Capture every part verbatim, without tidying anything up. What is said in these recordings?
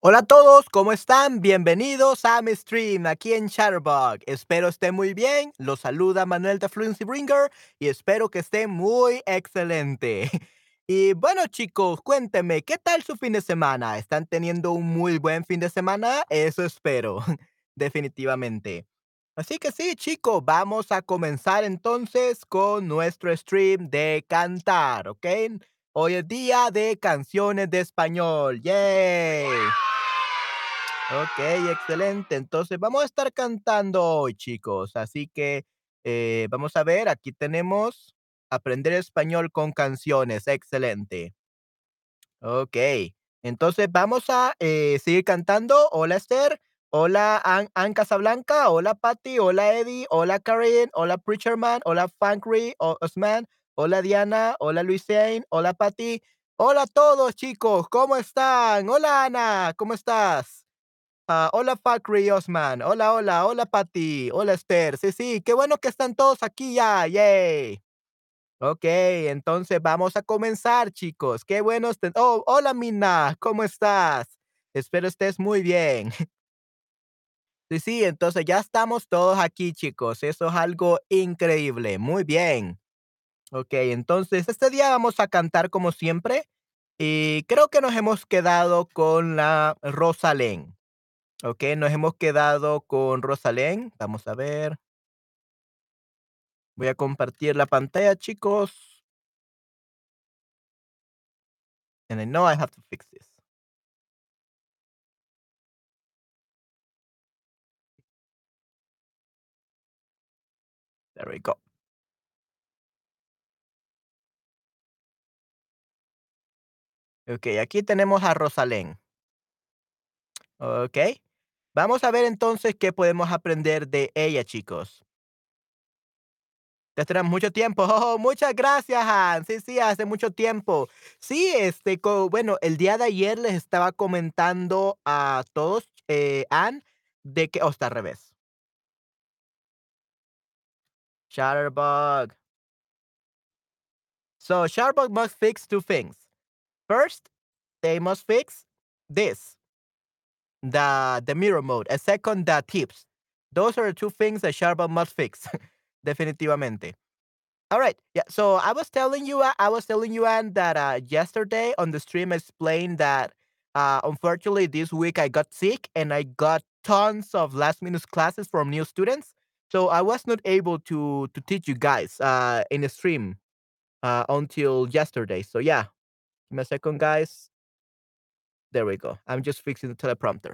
Hola a todos, ¿cómo están? Bienvenidos a mi stream aquí en Chatterbug. Espero estén muy bien. Los saluda Manuel de Fluency Bringer y espero que estén muy excelente. Y bueno, chicos, cuéntenme, ¿qué tal su fin de semana? ¿Están teniendo un muy buen fin de semana? Eso espero, definitivamente. Así que sí, chicos, vamos a comenzar entonces con nuestro stream de cantar, ¿ok? Hoy es día de canciones de español. ¡Yay! Okey, excelente. Entonces, vamos a estar cantando hoy, chicos. Así que, eh, vamos a ver, aquí tenemos aprender español con canciones, excelente. Okey. Entonces, vamos a, eh, seguir cantando. Hola, Esther. Hola, Ann Ann Casablanca. Hola, Patty. Hola, Eddie. Hola, Karen. Hola, Preacherman. Hola, Fankry o Osman. Hola, Diana. Hola, Luisane. Hola, Patty. Hola a todos, chicos, ¿cómo están? Hola, Ana, ¿cómo estás? Ah, hola Fakri Osman. Hola, hola, hola Patty. Hola Esther. Sí, sí, qué bueno que están todos aquí ya. Yay. Ok, entonces vamos a comenzar, chicos. Qué bueno. este- Oh, hola Mina. ¿Cómo estás? Espero estés muy bien. Sí, sí, entonces ya estamos todos aquí, chicos. Eso es algo increíble. Muy bien. Ok, entonces este día vamos a cantar como siempre. Y creo que nos hemos quedado con la Rosalén. Ok, nos hemos quedado con Rosalén. Vamos a ver. Voy a compartir la pantalla, chicos. And I know I have to fix this. There we go. Ok, aquí tenemos a Rosalén. Ok. Vamos a ver entonces qué podemos aprender de ella, chicos. Ya tenemos mucho tiempo. Oh, muchas gracias, Han. Sí, sí, hace mucho tiempo. Sí, este, co- bueno, el día de ayer les estaba comentando a todos, eh, Ann, de que, oh, está al revés. Shutterbug. So Shutterbug must fix two things. First, they must fix this, the the mirror mode. And second, the tips. Those are the two things that Shutterbug must fix. Definitivamente. All right. Yeah. So I was telling you, uh, I was telling you, Anne, that uh, yesterday on the stream I explained that uh, unfortunately this week I got sick and I got tons of last minute classes from new students. So I was not able to to teach you guys uh, in the stream uh, until yesterday. So yeah, give me a second, guys. There we go. I'm just fixing the teleprompter.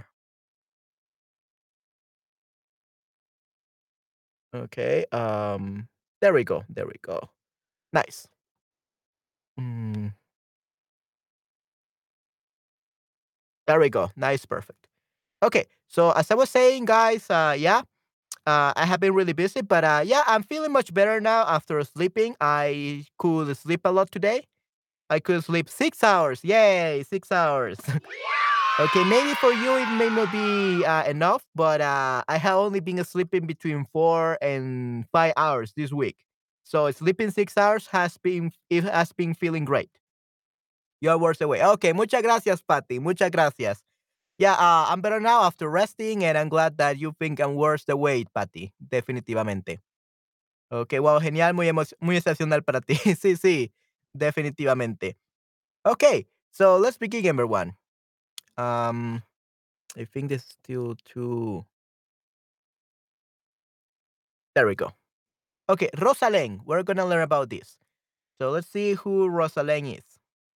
Okay. Um. There we go. There we go. Nice. Mm, there we go. Nice. Perfect. Okay. So as I was saying, guys, uh, yeah, uh, I have been really busy, but uh, yeah, I'm feeling much better now after sleeping. I could sleep a lot today. I could sleep six hours. Yay, six hours. Okay, maybe for you it may not be uh, enough, but uh, I have only been sleeping between four and five hours this week. So sleeping six hours has been it has been feeling great. You're worse away. Okay, muchas gracias, Patty. Muchas gracias. Yeah, uh, I'm better now after resting, and I'm glad that you think I'm worse the weight, Patty. Definitivamente. Okay, wow, genial, muy emo muy excepcional para ti. Sí, sí, definitivamente. Okay, so let's begin, everyone. Um, I think this is still too. There we go. Okay, Rosalén. We're gonna learn about this. So let's see who Rosalén is.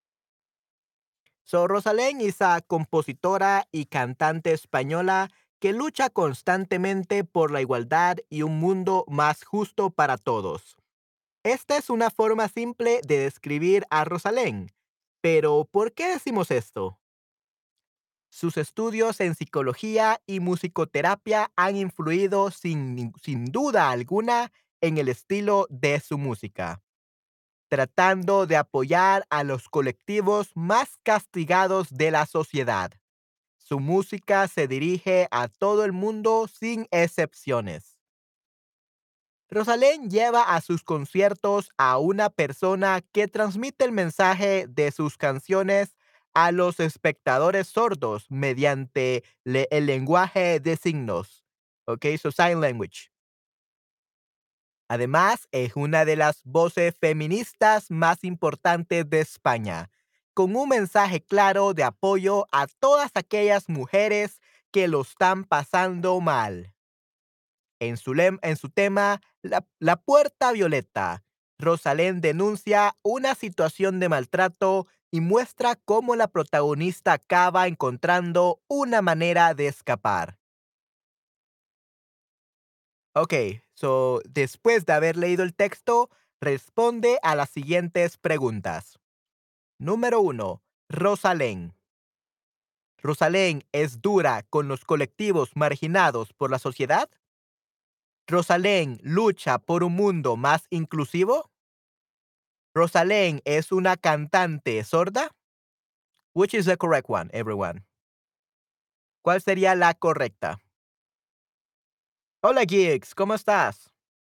So Rosalén es a compositora y cantante española que lucha constantemente por la igualdad y un mundo más justo para todos. Esta es una forma simple de describir a Rosalén. Pero, ¿por qué decimos esto? Sus estudios en psicología y musicoterapia han influido sin, nin- sin duda alguna en el estilo de su música, tratando de apoyar a los colectivos más castigados de la sociedad. Su música se dirige a todo el mundo sin excepciones. Rosalén lleva a sus conciertos a una persona que transmite el mensaje de sus canciones a los espectadores sordos mediante le- el lenguaje de signos. Ok, so sign language. Además, es una de las voces feministas más importantes de España, con un mensaje claro de apoyo a todas aquellas mujeres que lo están pasando mal. En su, lem- en su tema, la, la Puerta Violeta, Rosalén denuncia una situación de maltrato y muestra cómo la protagonista acaba encontrando una manera de escapar. Ok, so después de haber leído el texto, responde a las siguientes preguntas. Número uno. Rosalén. ¿Rosalén es dura con los colectivos marginados por la sociedad? ¿Rosalén lucha por un mundo más inclusivo? ¿Rosalén es una cantante sorda? Which is the correct one, everyone? ¿Cuál sería la correcta? Hola, Geeks, ¿cómo estás?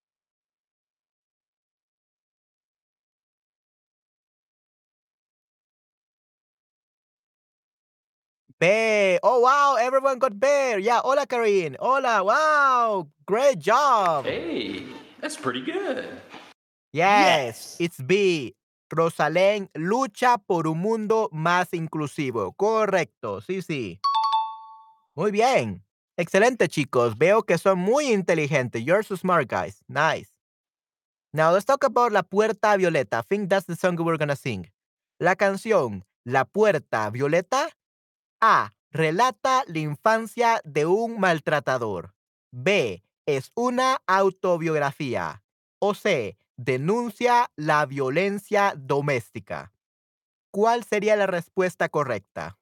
Bear. Oh, wow. Everyone got bear. Yeah. Hola, Karin. Hola. Wow. Great job. Hey, that's pretty good. Yes. Yes. It's B. Rosalén lucha por un mundo más inclusivo. Correcto. Sí, sí. Muy bien. Excelente, chicos. Veo que son muy inteligentes. You're so smart, guys. Nice. Now let's talk about La Puerta Violeta. I think that's the song we're gonna sing. La canción La Puerta Violeta. A. Relata la infancia de un maltratador. B. Es una autobiografía. O C. Denuncia la violencia doméstica. ¿Cuál sería la respuesta correcta?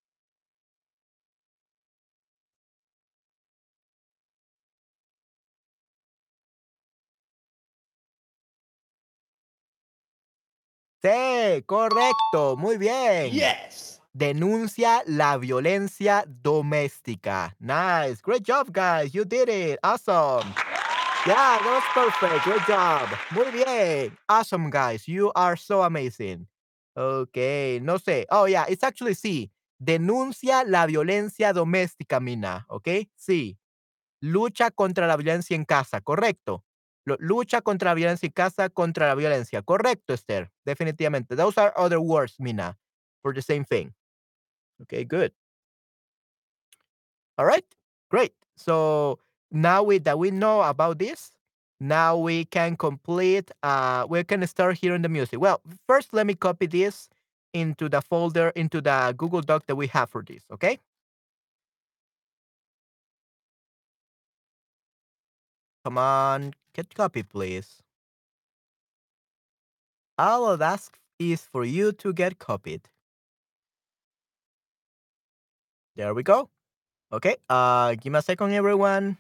C. Correcto. Muy bien. Yes. Denuncia la violencia doméstica. Nice. Great job, guys. You did it. Awesome. Yeah, that was perfect. Great job. Muy bien. Awesome, guys. You are so amazing. Okay, no sé. Oh, yeah, it's actually sí. Denuncia la violencia doméstica, Mina. Okay, sí. Lucha contra la violencia en casa, correcto. Lo- lucha contra la violencia en casa, contra la violencia. Correcto, Esther. Definitivamente. Those are other words, Mina, for the same thing. Okay, good. All right, great. So now we that we know about this, now we can complete. Uh, we can start hearing the music. Well, first let me copy this into the folder into the Google Doc that we have for this. Okay, come on, get copy, please. All I'll ask is for you to get copied. There we go. Okay. Uh, give me a second, everyone.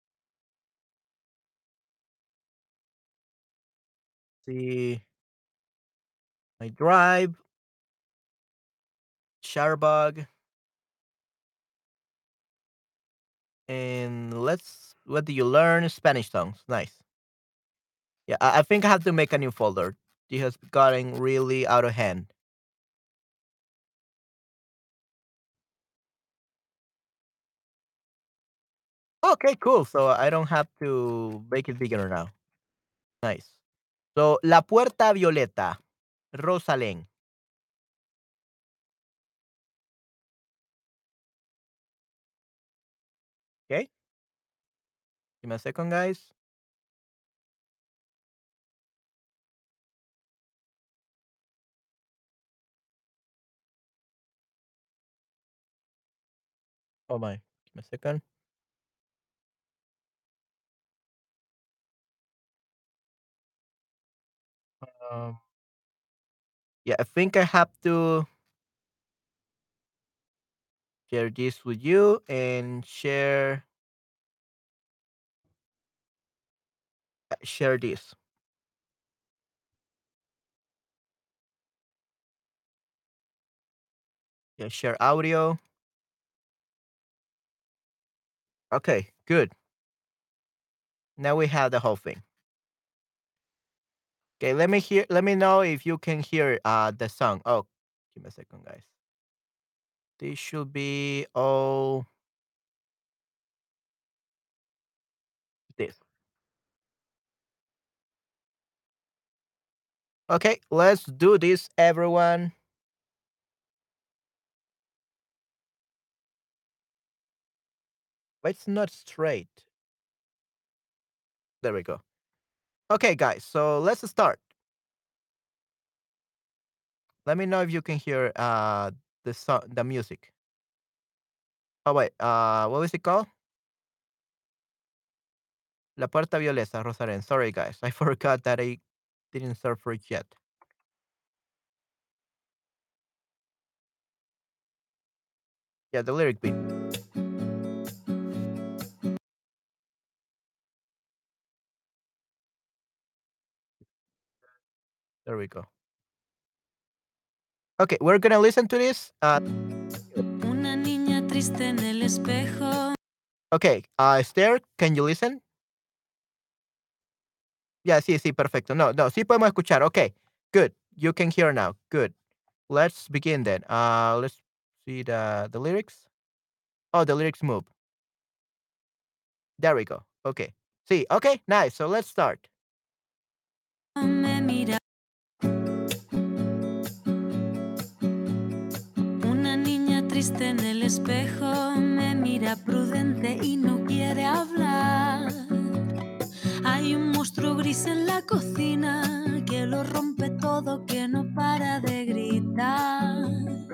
See my drive, Sharbug, and let's. What do you learn? Spanish songs. Nice. Yeah, I, I think I have to make a new folder. It has gotten really out of hand. Okay, cool. So I don't have to make it bigger now. Nice. So La Puerta Violeta, Rosalén. Okay, give me a second, guys. Oh my, give me a second. Um, yeah, I think I have to share this with you and share uh, share this. Yeah, share audio. Okay, good. Now we have the whole thing. Okay, let me hear. Let me know if you can hear uh the song. Oh, give me a second, guys. This should be all this. Okay, let's do this, everyone. But it's not straight. There we go. Okay, guys, so let's start. Let me know if you can hear uh the song, the music. Oh wait, uh, what was it called? La Puerta Violeta, Rosaren. Sorry, guys, I forgot that I didn't search for it yet. Yeah, the lyric beat. There we go. Okay, we're gonna listen to this. Uh, Una niña triste en el espejo. okay, uh, Esther, can you listen? Yeah, sí, sí, perfecto. No, no, sí podemos escuchar. Okay, good. You can hear now. Good. Let's begin then. Uh, let's see the the lyrics. Oh, the lyrics move. There we go. Okay. See, okay, nice. So let's start. Me mira. Una niña triste en el espejo me mira prudente y no quiere hablar. Hay un monstruo gris en la cocina que lo rompe todo, que no para de gritar.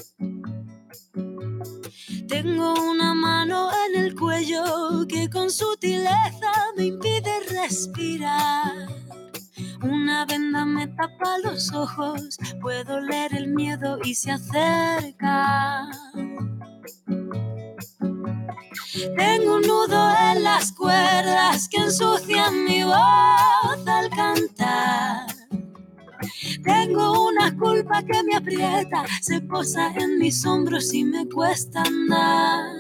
Tengo una mano en el cuello que con sutileza me impide respirar. Una venda me tapa los ojos, puedo leer el miedo y se acerca. Tengo un nudo en las cuerdas que ensucian mi voz al cantar. Tengo una culpa que me aprieta, se posa en mis hombros y me cuesta andar.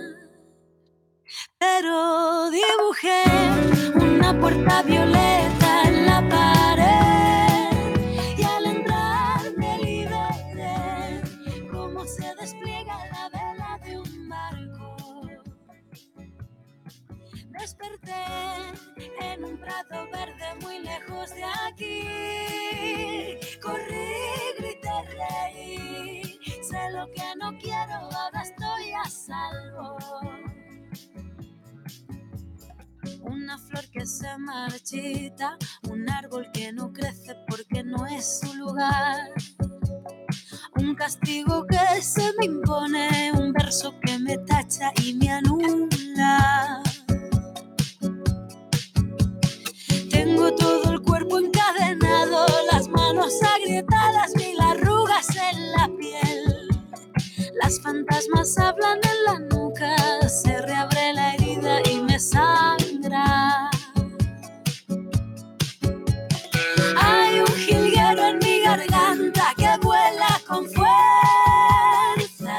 Pero dibujé una puerta violeta en la pared y al entrar me liberé, como se despliega la vela de un barco. Desperté en un prado verde muy lejos de aquí. Corrí, grité, reí. Sé lo que no quiero, ahora estoy a salvo. Una flor que se marchita, un árbol que no crece porque no es su lugar. Un castigo que se me impone, un verso que me tacha y me anula. Tengo todo el cuerpo encadenado, las manos agrietadas, mil arrugas en la piel. Las fantasmas hablan en la nuca, se reabre la herida y me sangra. Hay un jilguero en mi garganta que vuela con fuerza.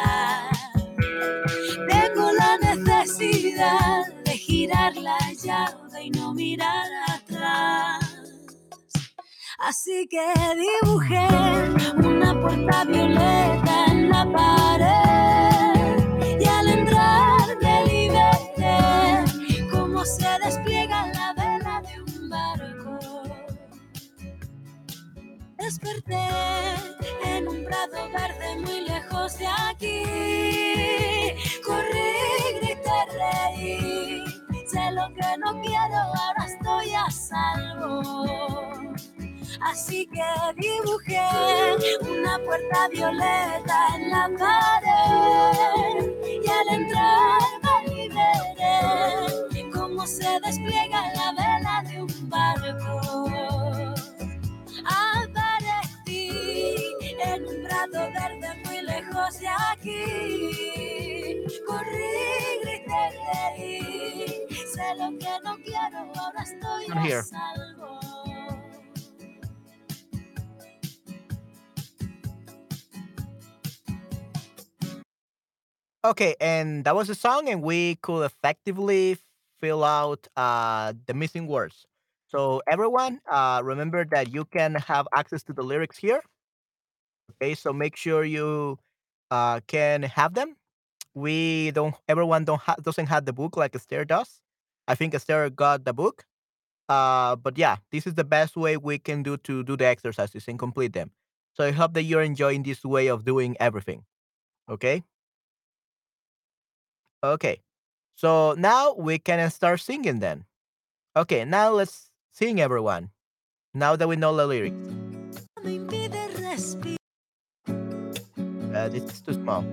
Tengo la necesidad de girar la llave y no mirar atrás. Así que dibujé una puerta violeta en la pared y al entrar me liberé, como se despliega la vela de un barco. Desperté en un prado verde muy lejos de aquí. Corrí, grité, reí. Sé lo que no quiero, ahora estoy a salvo. Así que dibujé una puerta violeta en la pared y al entrar me liberé, como se despliega la vela de un barco. Aparecí en un prado verde muy lejos de aquí. Corrí, grité, reí. Sé lo que no quiero, ahora estoy I'm a here. salvo. Okay, and that was the song, and we could effectively fill out uh, the missing words. So everyone, uh, remember that you can have access to the lyrics here. Okay, so make sure you uh, can have them. we don't everyone don't ha- doesn't have the book like Esther does. I think Esther got the book. Uh, but yeah, this is the best way we can do to do the exercises and complete them. So I hope that you're enjoying this way of doing everything. Okay. Okay. So now we can start singing then. Okay. Now let's sing, everyone. Now that we know the lyrics. Me impide respirar. Uh, this is too small.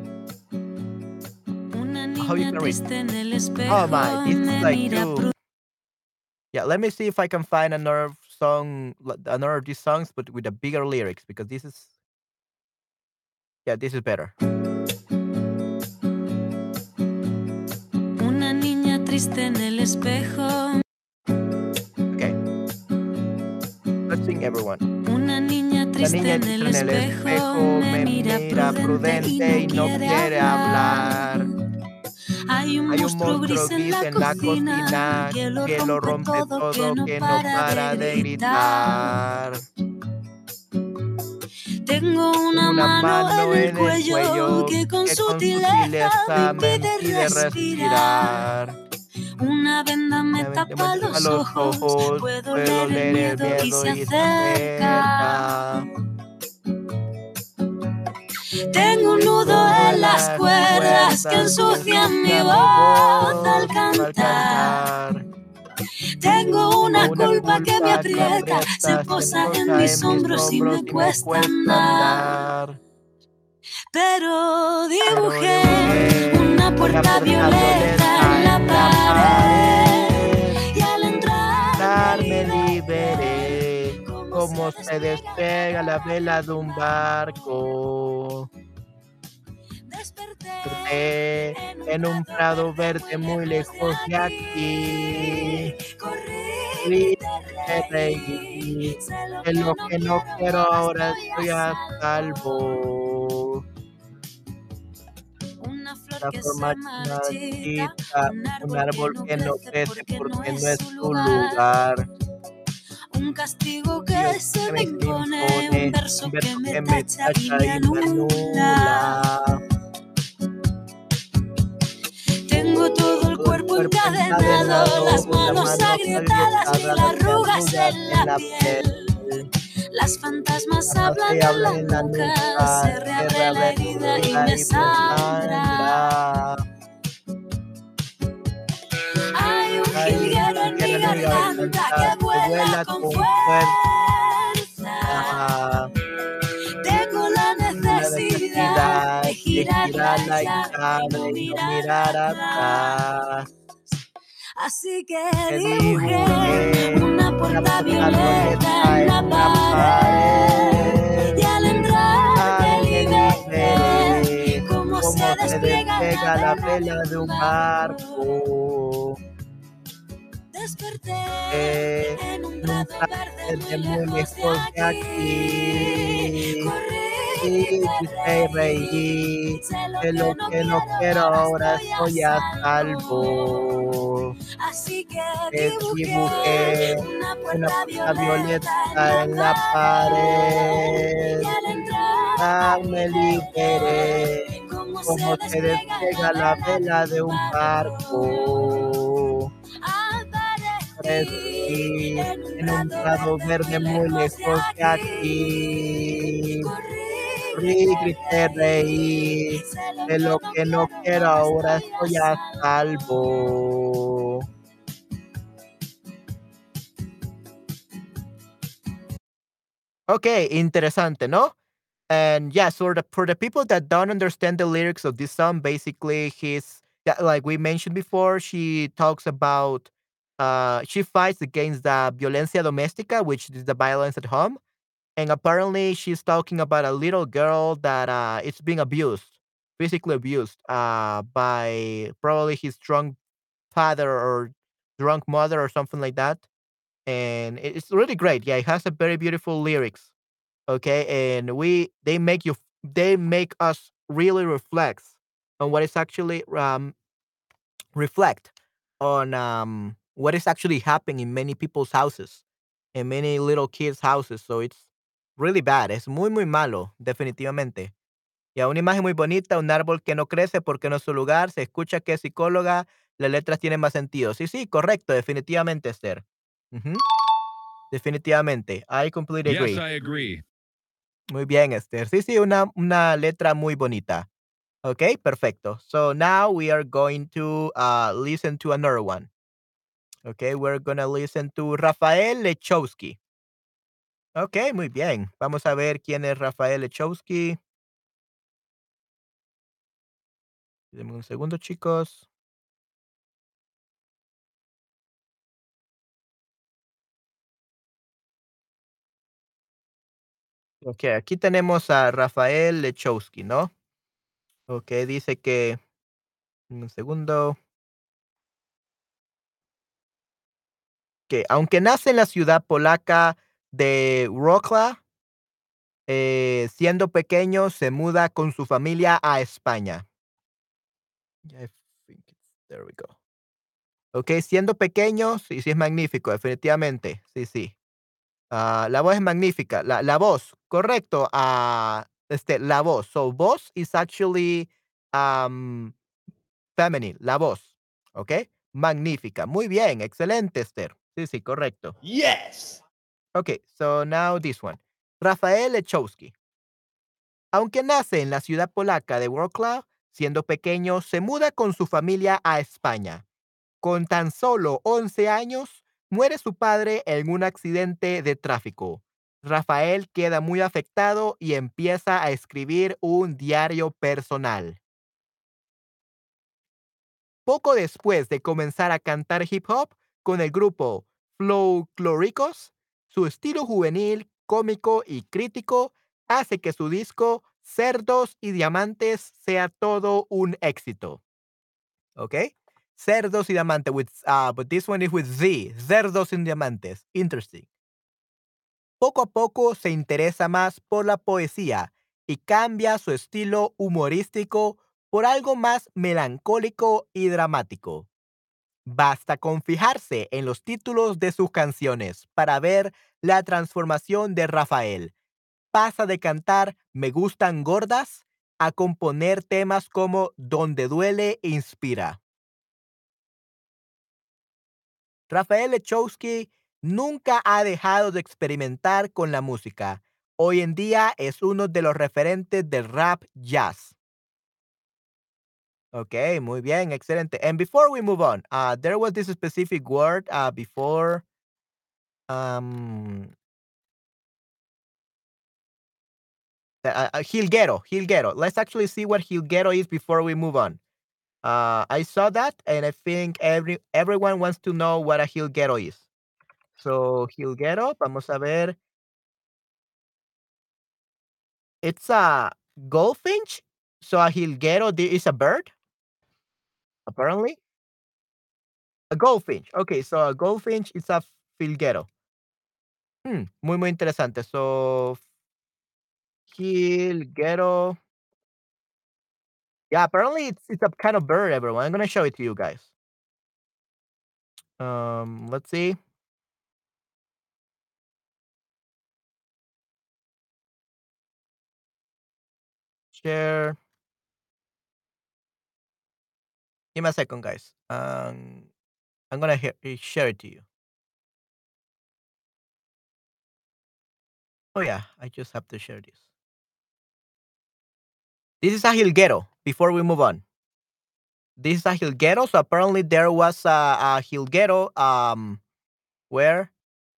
Una How you niña can read? triste en el Oh my, espejo this is me like mira. too. Yeah, let me see if I can find another song, li- another of these songs, but with a bigger lyrics because this is, yeah, this is better. Una niña triste en el espejo. Okay, let's sing, everyone. Una niña La triste niña en triste el en el espejo espejo me me mira mira prudente y prudente no y no quiere quiere hablar. hablar. Hay un Hay un monstruo monstruo gris en gris la en la cocina cocina que lo que lo rompe rompe todo, que todo, no que no para para de de gritar. gritar. Tengo Tengo una una mano en mano el en el cuello cuello que con que con sutileza me sutileza me impide impide respirar. respirar. Una venda me Una vez que me tapa tapa los los ojos, ojos, puedo puedo leer el leer el miedo y miedo se y se acerca. acerca. Tengo un Tengo nudo un nudo en en las las cuerdas que cuerdas que ensucian mi ensucia mi voz al voz al cantar. cantar. Tengo Tengo una una culpa que me culpa que aprieta, se aprieta, se posa en posa mis en mis hombros y hombros me y me cuesta cuesta andar. andar. Pero Pero dibujé dibujé una una puerta puerta violeta en violeta la en la pared pared. y al entrar me Entrar me liberé liberé, como se como se despliega la despega la vela de vela de un un barco. barco. Desperté Desperté en un en un prado prado verde muy verde muy lejos de lejos de aquí. aquí. Corrí, Fui, grité, me reí. reí, Sé lo de que lo no que no quiero, quiero ahora ahora estoy a estoy a salvo. salvo. Una flor La que forma se marchita, marchita, un un árbol que árbol no que no crece crece porque no porque no es es su su lugar. lugar. Un castigo Dios que se que me me me impone, un impone, verso un que verso me que me tacha y tacha me y me anula. anula. Tengo todo el Todo el cuerpo cuerpo encadenado, encadenado, las las manos manos agrietadas, agrietadas, mil las arrugas arrugas en en la la piel. piel. Las fantasmas Jamás hablan se en habla la en la nuca, nuca, se se reabre la reabre herida la y herida me y me sangra. sangra. Hay un Hay un jilguero en jilguero mi en mi garganta garganta que que vuela vuela con con fuerza. fuerza. Tengo la Tengo la necesidad necesidad de de girarla girarla y ya y no girarla y no mirar mirar atrás. atrás. Así que Que dibujé dibujé una una puerta puerta violeta violeta en la en la pared pared. y al entrar me Ay, me liberé liberé, como se como se despliega la despega la vela de vela un de un barco. barco. Desperté Eh, en un en un prado prado verde muy verde muy lejos de lejos de aquí. aquí. Corrí, Y grité, grité y reí. reí, Sé lo de que lo no que no quiero, quiero ahora ahora estoy a estoy a salvo. salvo. Así que Eh, dibujé dibujé una una puerta puerta violeta en violeta la en la pared y pared. al entrar Ah, me me liberé, liberé como se como se despliega la despega la vela de vela de un un barco. barco. Aparecí Aparecí en un en un prado prado verde muy verde muy lejos de lejos de aquí. aquí. Corrí, Corrí, grité, grité, reí. reí, Sé lo de que lo no que no quiero, quiero ahora ahora estoy a estoy a salvo. salvo. Okay, interesante, ¿no? And yeah, so the, for the people that don't understand the lyrics of this song, basically, he's yeah, like we mentioned before, she talks about uh she fights against the violencia doméstica, which is the violence at home, and apparently she's talking about a little girl that uh is being abused, physically abused, uh by probably his drunk father or drunk mother or something like that, and it- it's really great. Yeah, it has a very beautiful lyrics. Okay, and we they make you they make us really reflect on what is actually um reflect on um what is actually happening in many people's houses, in many little kids houses. So it's really bad. Es muy muy malo, definitivamente. Ya, una imagen muy bonita, un árbol que no crece porque no es su lugar, se escucha que es psicóloga, las letras tienen más sentido. Sí, sí, correcto, definitivamente, Esther. Ujú, definitivamente. I completely Yes, agree. I agree. Muy bien, Esther. Sí, sí, una, una letra muy bonita. Okay, perfecto. So now we are going to uh, listen to another one. Okay, we're gonna listen to Rafael Lechowski. Okay, muy bien. Vamos a ver quién es Rafael Lechowski. Denme un segundo, chicos. Ok, aquí tenemos a Rafael Lechowski, ¿no? Ok, dice que, un segundo, que aunque nace en la ciudad polaca de Wrocław, eh, siendo pequeño se muda con su familia a España. I think it's- there we go. Ok, siendo pequeño, sí, sí es magnífico, definitivamente. Sí, sí. Ah, la voz es magnífica. La, la voz, correcto. Ah, este, la voz. So, voz is actually um, feminine, la voz. ¿Ok? Magnífica. Muy bien. Excelente, Esther. Sí, sí, correcto. Yes. Ok, so now this one. Rafael Lechowski. Aunque nace en la ciudad polaca de Wrocław, siendo pequeño, se muda con su familia a España. Con tan solo once años, muere su padre en un accidente de tráfico. Rafael queda muy afectado y empieza a escribir un diario personal. Poco después de comenzar a cantar hip hop con el grupo Flow Clóricos, su estilo juvenil, cómico y crítico hace que su disco Cerdos y Diamantes sea todo un éxito. ¿Ok? Cerdos y Diamantes, with, uh, but this one is with Z. Cerdos y Diamantes. Interesting. Poco a poco se interesa más por la poesía y cambia su estilo humorístico por algo más melancólico y dramático. Basta con fijarse en los títulos de sus canciones para ver la transformación de Rafael. Pasa de cantar Me gustan gordas a componer temas como Donde duele inspira. Rafael Lechowski nunca ha dejado de experimentar con la música. Hoy en día es uno de los referentes del rap jazz. Okay, muy bien, excelente. And before we move on, uh, there was this specific word uh, before um, uh, uh, Hilguero, Hilguero. Let's actually see what Hilguero is before we move on. Uh, I saw that, and I think every everyone wants to know what a Hilguero is. So, Hilguero, vamos a ver. It's a goldfinch? So a jilguero di is a bird, apparently? A goldfinch. Okay, so a goldfinch is a filguero. Hmm, muy, muy interesante. So, jilguero. Yeah, apparently it's it's a kind of bird, everyone. I'm gonna show it to you guys. Um, let's see. Share. Give me a second, guys. Um, I'm gonna he- share it to you. Oh yeah, I just have to share this. This is a jilguero. Before we move on, this is a jilguero. So apparently there was a, a jilguero. Um, where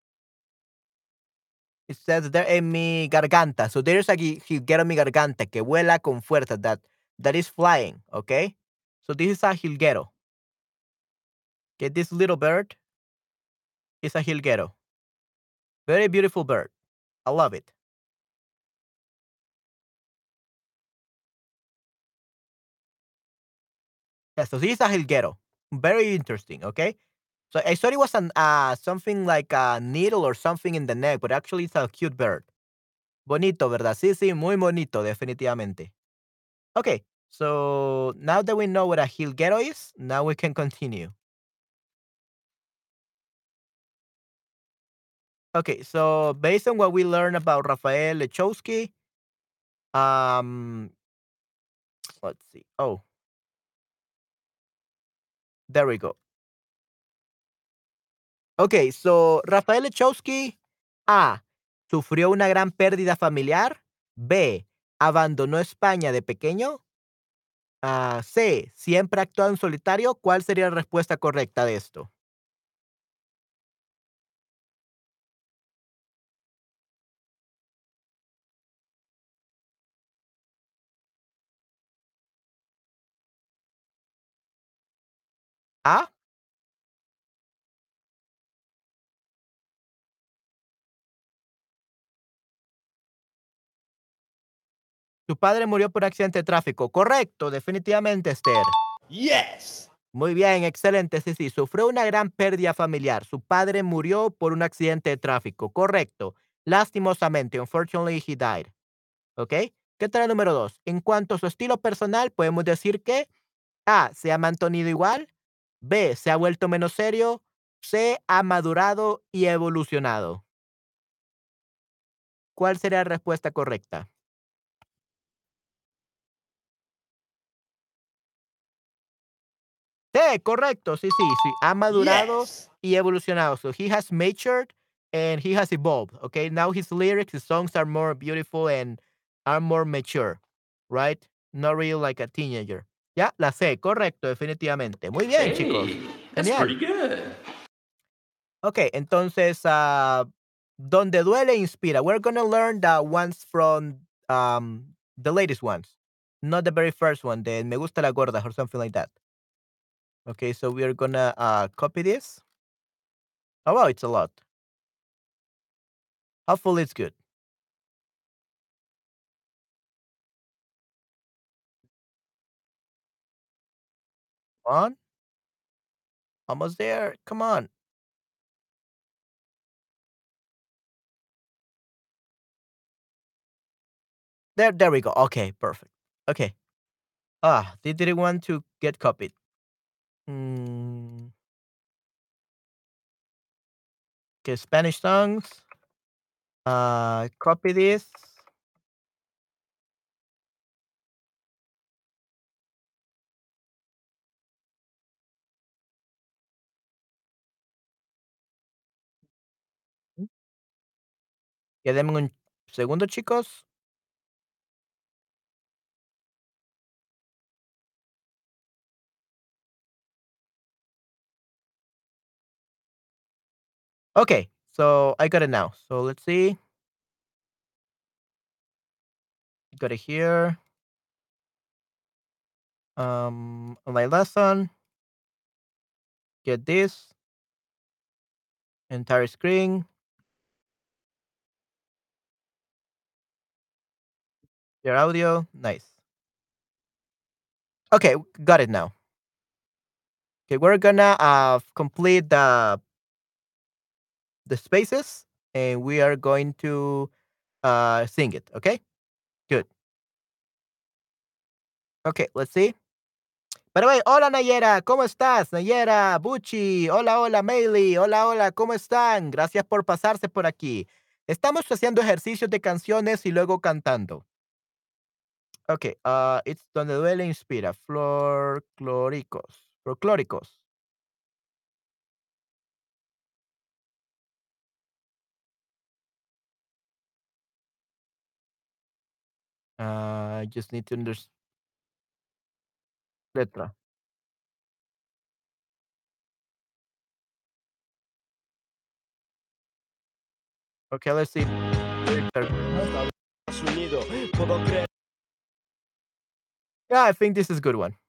it says there en mi garganta. So there's a gi- jilguero en mi garganta que vuela con fuerza that that is flying. Okay, so this is a jilguero. Okay, this little bird is a jilguero. Very beautiful bird. I love it. Yeah, so this is a jilguero. Very interesting. Okay, so I thought it was an uh something like a needle or something in the neck, but actually it's a cute bird. Bonito, ¿verdad? Sí, sí, muy bonito, definitivamente. Okay, so now that we know what a jilguero is, now we can continue. Okay, so based on what we learned about Rafael Lechowski, um, Let's see. Oh, there we go. Okay, so Rafael Lechowski, A, sufrió una gran pérdida familiar. B, abandonó España de pequeño. Ah, C, siempre ha actuado en solitario. ¿Cuál sería la respuesta correcta de esto? A, su padre murió por accidente de tráfico. Correcto, definitivamente, Esther. Yes. Muy bien, excelente. Sí, sí, sufrió una gran pérdida familiar. Su padre murió por un accidente de tráfico. Correcto. Lastimosamente, unfortunately, he died. ¿Ok? ¿Qué tal el número dos? En cuanto a su estilo personal, podemos decir que A, se ha mantenido igual. B, se ha vuelto menos serio. C, ha madurado y evolucionado. ¿Cuál sería la respuesta correcta? Sí, correcto. Sí, sí, sí. Ha madurado Yes. y evolucionado. So he has matured and he has evolved. Okay. Now his lyrics, his songs are more beautiful and are more mature. Right? Not really like a teenager. Ya, la C, correcto, definitivamente. Muy bien, chicos. Hey, that's Genial. pretty good. Ok, entonces, ah, donde duele inspira. We're gonna learn the ones from um, the latest ones, not the very first one. The Me gusta la gorda or something like that. Okay, so we are gonna uh, copy this. Oh, wow, it's a lot. Hopefully, it's good. On, almost there. Come on. There, there we go. Okay, perfect. Okay. Ah, they didn't want to get copied. Mm, okay, Spanish songs. Uh, copy this. Ya denme un segundo, chicos. Okay, so I got it now. So let's see. Got it here. Um, my lesson. Get this entire screen. Your audio. Nice. Okay, got it now. Okay, we're gonna uh complete the the spaces, and we are going to uh sing it. Okay, good. Okay, let's see. By the way, hola Nayera, ¿cómo estás? Nayera, Buchi, hola, hola, Meili, hola, hola, ¿cómo están? Gracias por pasarse por aquí. Estamos haciendo ejercicios de canciones y luego cantando. Okay, uh, it's donde duele inspira. Folclóricos. Folclóricos. Uh, I just need to understand letra. Okay, let's see. Lyrics are- Unido, puedo creer. Yeah, I think this is a good one.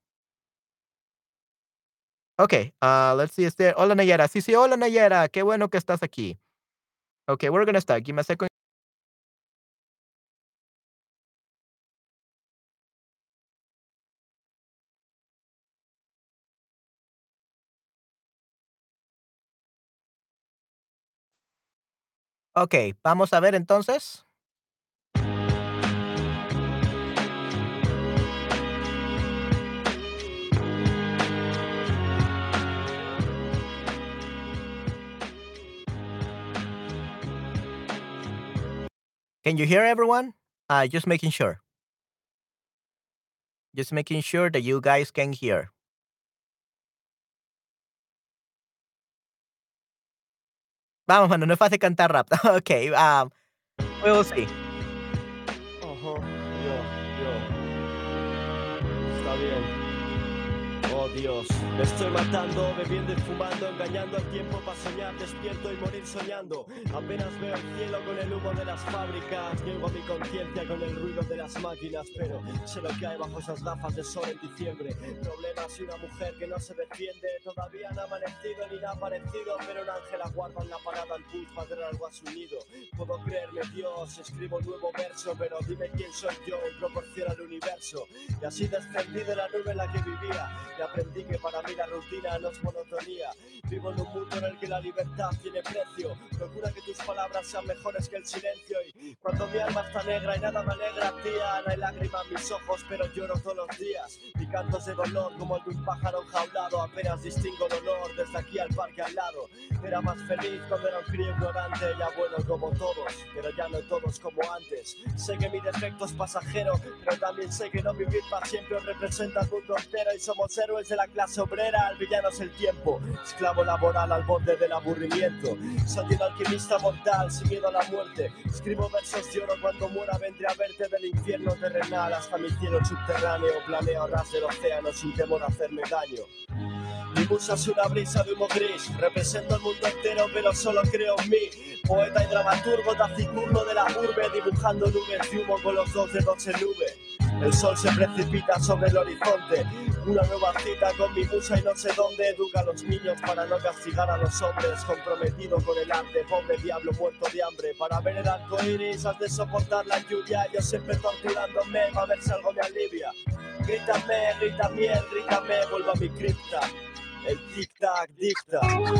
Okay, uh, let's see. Este, hola Nayera. Sí, sí, hola Nayera. Qué bueno que estás aquí. Okay, we're gonna start. Give me a second. Okay, vamos a ver entonces. Can you hear everyone? Uh, just making sure. Just making sure that you guys can hear. Vamos, mano, no es fácil cantar rap. Okey, um, we will see. Ajá, yo, yo. Está bien. Oh Dios, me estoy matando, bebiendo y fumando, engañando al tiempo para soñar, despierto y morir soñando. Apenas veo el cielo con el humo de las fábricas, llego a mi conciencia con el ruido de las máquinas, pero sé lo que hay bajo esas gafas de sol en diciembre. Problemas y una mujer que no se defiende, todavía no ha amanecido ni nada parecido, pero un ángel aguarda en la parada al bus para dar algo a su nido. Puedo creerme Dios, escribo un nuevo verso, pero dime quién soy yo en proporción al universo. Y así descendí de la nube en la que vivía. Y aprendí que para mí la rutina no es monotonía. Vivo en un mundo en el que la libertad tiene precio. Procura que tus palabras sean mejores que el silencio. Y cuando mi alma está negra y nada me alegra, tía, no hay lágrimas en mis ojos, pero lloro todos los días. Mi canto es de dolor como el de un pájaro enjaulado. Apenas distingo el olor desde aquí al parque al lado. Era más feliz cuando era un crío ignorante. Ya bueno como todos, pero ya no todos como antes. Sé que mi defecto es pasajero, pero también sé que no vivir para siempre os representa el mundo entero. Y somos héroes de la clase obrera, el villano es el tiempo. Esclavo laboral al borde del aburrimiento. Soy un alquimista mortal, sin miedo a la muerte. Escribo versos de oro, cuando muera vendré a verte del infierno terrenal hasta mi cielo subterráneo. Planeo a ras del océano sin temor a hacerme daño. Mi musa es una brisa de humo gris. Represento el mundo entero, pero solo creo en mí. Poeta y dramaturgo taciturno de la urbe, dibujando nubes de humo con los dos dedos en nube. El sol se precipita sobre el horizonte. Una nueva cita con mi musa y no sé dónde. Educa a los niños para no castigar a los hombres. Comprometido con el arte, pobre diablo muerto de hambre. Para ver el arco iris has de soportar la lluvia. Yo siempre torturándome para ver si algo me alivia. Grítame, grita miel, grítame, vuelvo a mi cripta. El tic-tac dicta.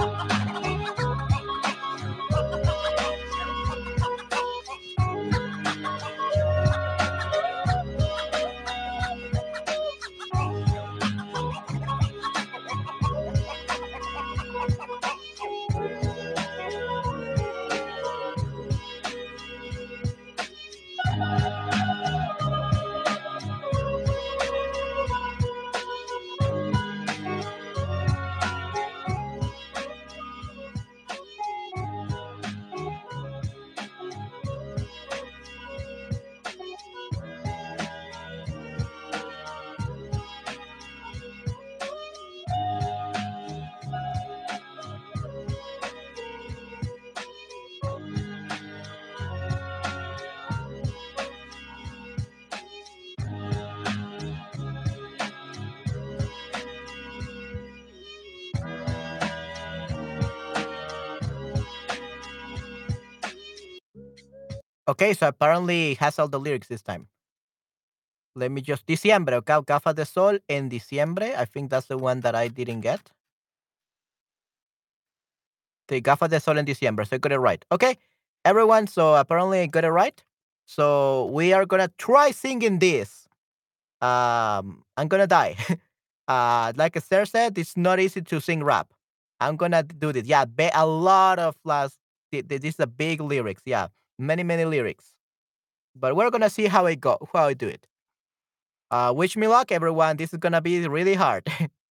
Okay, so apparently it has all the lyrics this time. Let me just Diciembre, okay, Gafas de Sol en Diciembre. I think that's the one that I didn't get. The Gafas de Sol en Diciembre. So I got it right. Okay, everyone. So apparently I got it right. So we are gonna try singing this. Um, I'm gonna die. uh, like Esther said, it's not easy to sing rap. I'm gonna do this. Yeah, be- a lot of last. This is a big lyrics. Yeah, many many lyrics. But we're gonna see how I go. How I do it. Uh, wish me luck, everyone. This is gonna be really hard.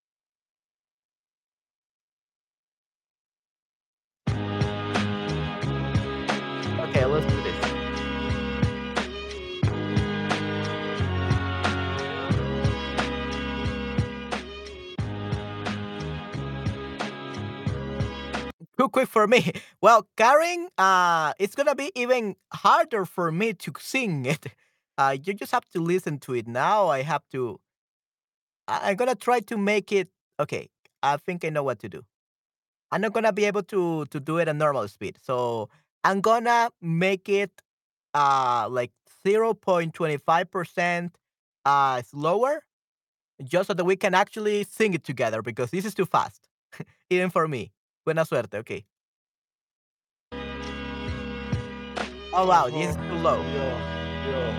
Okay, let's do this. Too quick for me. Well, Karen, uh, it's gonna be even harder for me to sing it. Uh, you just have to listen to it now. I have to. I- I'm gonna try to make it. Okay, I think I know what to do. I'm not gonna be able to to do it at normal speed, so I'm gonna make it uh like zero point two five percent uh slower, just so that we can actually sing it together because this is too fast, even for me. Buena suerte. Okay. Oh wow, this is too low. Yo, yo.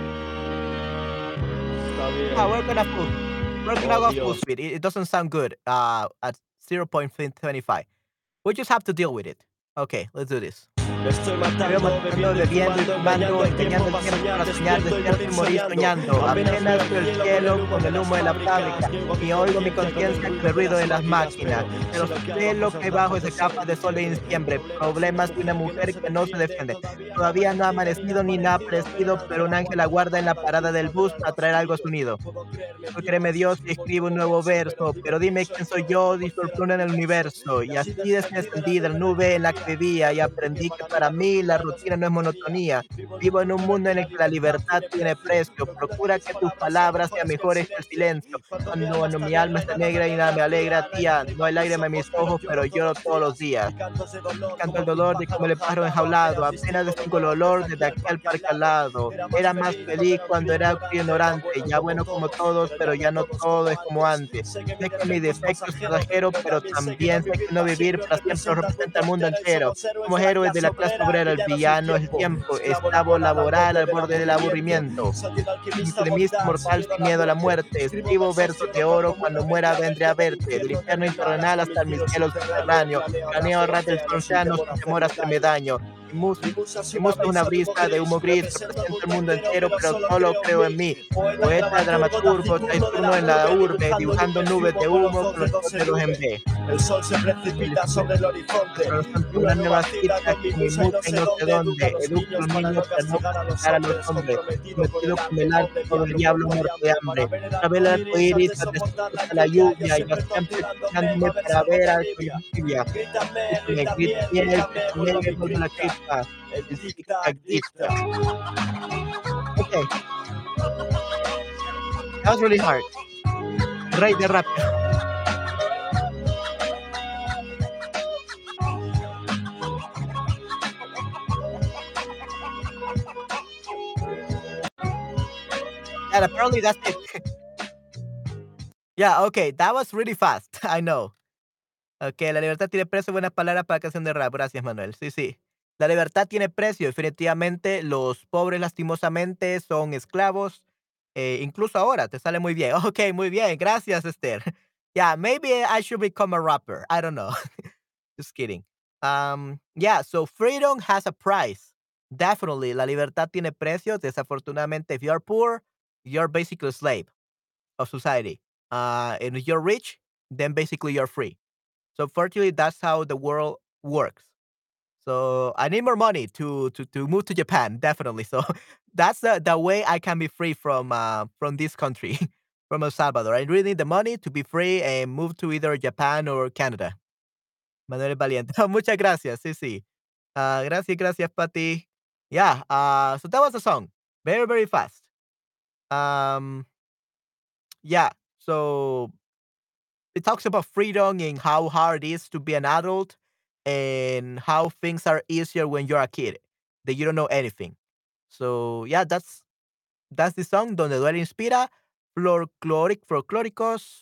Está bien. Yeah, we're gonna full. We're gonna Oh go full Dios. speed. It, it doesn't sound good. Uh, at zero point two five. We just have to deal with it. Okay, let's do this. Me estoy Me veo matando, matando, bebiendo y bebiendo y fumando, engañando fumando, al tiempo engañando el para tiempo soñar. para soñar, Despierto y despierto y morir morir soñando. soñando. Apenas Apenas veo veo el el cielo con el cielo humo con de el las humo de la fábricas. fábrica Y oigo mi y oigo mi conciencia con el conciencia con ruido el de ruido las de las máquinas. máquinas. Pero Pero sé lo que hay sé bajo lo esas que hay bajo gafas de esas sol de gafas de sol de diciembre. diciembre. Problemas Problemas de de una una mujer que no mujer se que no se defiende. defiende. Todavía no ha Todavía no ha amanecido ni ha amanecido ni nada aparecido. Pero un parecido, ángel pero un ángel aguarda en la aguarda en la parada del parada bus del para traer bus para algo a su traer algo a nido. su nido. Puedo creerme Tú Dios créeme, si Dios, y escribo un escribe un nuevo nuevo verso. Pero verso, dime pero quién dime soy quién soy yo de yo, por dice el fuera plural del en el universo. universo. Y Y así así descendido en la descendí de la nube en la que nube en la que vivía. vivía y Aprendí que aprendí que para mí para la mí la rutina no es rutina no es monotonía. monotonía. Vivo en un Vivo en mundo un en el mundo que en la el que la libertad libertad tiene tiene precio. precio. Procura que Procura mis que tus palabras sean palabras sean mejores que el mejores que el silencio. silencio. Cuando mi Cuando, alma cuando está mi negra alma y está nada me negra y nada me alegra, alegra, tía, tía, no hay lágrimas mis lágrima en mis ojos, pero ojos, pero lloro todos lloro los todos los días. días. Mi canto es de Y dolor canto como el el de un dolor de como pájaro el pájaro enjaulado. enjaulado. Apenas Apenas distingo distingo el dolor desde olor desde aquí al aquí al parque al parque al lado. lado. Era más Era más feliz cuando feliz era un cuando crío era un crío ignorante, ya ignorante, bueno ya como bueno como todos, todos, pero pero ya no ya no todo es todo como es como antes. antes. Sé que mi Sé que mi defecto es defecto es pasajero, pasajero, pero pero también sé que no también sé vivir que no para vivir siempre para siempre representa el representa mundo al mundo entero. Y entero. somos héroes Somos de la héroes de clase la clase obrera, obrera, el villanos sin villano es el tiempo, tiempo, esclavo esclavo laboral al laboral borde al del borde del aburrimiento. aburrimiento. Soy un alquimista Alquimista mortal sin mortal miedo a sin la miedo a la muerte. muerte. Escribo Escribo versos de versos de oro oro, cuando muera cuando vendré muera a vendré verte a del verte. Del infierno infierno terrenal infernal hasta mi hasta mi cielo cielo subterráneo. subterráneo. Planeo Planeo ras del a ras del océano sin océano temor a sin temor a hacerme hacerme daño. daño. Mi mus Mi musa es mi una música es una brisa de humo brisa de gris, humo gris, represento al representa el mundo mundo entero, entero, pero pero solo solo creo en creo en mí. mí. Poeta, Poeta, dramaturgo, dramaturgo, taciturno de la taciturno en la urbe, urbe, dibujando dibujando nubes de nubes humo de con los humo dos con los dedos dos en dedos en V. B. El sol se El precipita sol sobre el horizonte, sobre el horizonte, una una nueva nueva cita cita con mi con mi musa y musa no y sé no sé dónde. Educa a dónde. los Educo a niños los para niños no para no castigar a los castigar a los hombres, hombres, comprometido con el metido con arte el arte pobre, pobre, diablo diablo muerto de muerto de hambre, para hambre. ver el Para ver arco el arco iris iris antes de antes de soportar la soportar la lluvia. Yo lluvia, yo siempre siempre torturándome tirándome para ver si para algo ver me algo en alivia. lluvia. Grítame, Grítame, grítame, grítame, grítame, grítame, vuelvo a mi vuelvo a la cripta. cripta. El El tic-tac tic-tac dicta. dicta. Okay, that was really hard. Rey de rápido. And apparently that's it. Yeah, okay, that was really fast. I know. Okay, la libertad tiene precio, buenas palabras para canción de rap. Gracias, Manuel. Sí, sí. La libertad tiene precio. Definitivamente, los pobres, lastimosamente, son esclavos. Eh, incluso ahora, te sale muy bien. Okay, muy bien. Gracias, Esther. Yeah, maybe I should become a rapper. I don't know. Just kidding. Um, yeah, so freedom has a price. Definitely, la libertad tiene precio. Desafortunadamente, if you're poor, you're basically a slave of society. Uh, and if you're rich, then basically you're free. So fortunately, that's how the world works. So I need more money to to to move to Japan, definitely. So that's the, the way I can be free from uh, from this country, from El Salvador. I really need the money to be free and move to either Japan or Canada. Manuel Valiente. Muchas gracias. Sí, sí. Uh, gracias, gracias, Pati. Yeah. Uh, so that was the song. Very, very fast. Um. Yeah. So it talks about freedom and how hard it is to be an adult and how things are easier when you're a kid that you don't know anything. So yeah, that's that's the song Donde Duele Inspira, Folkloric Folklóricos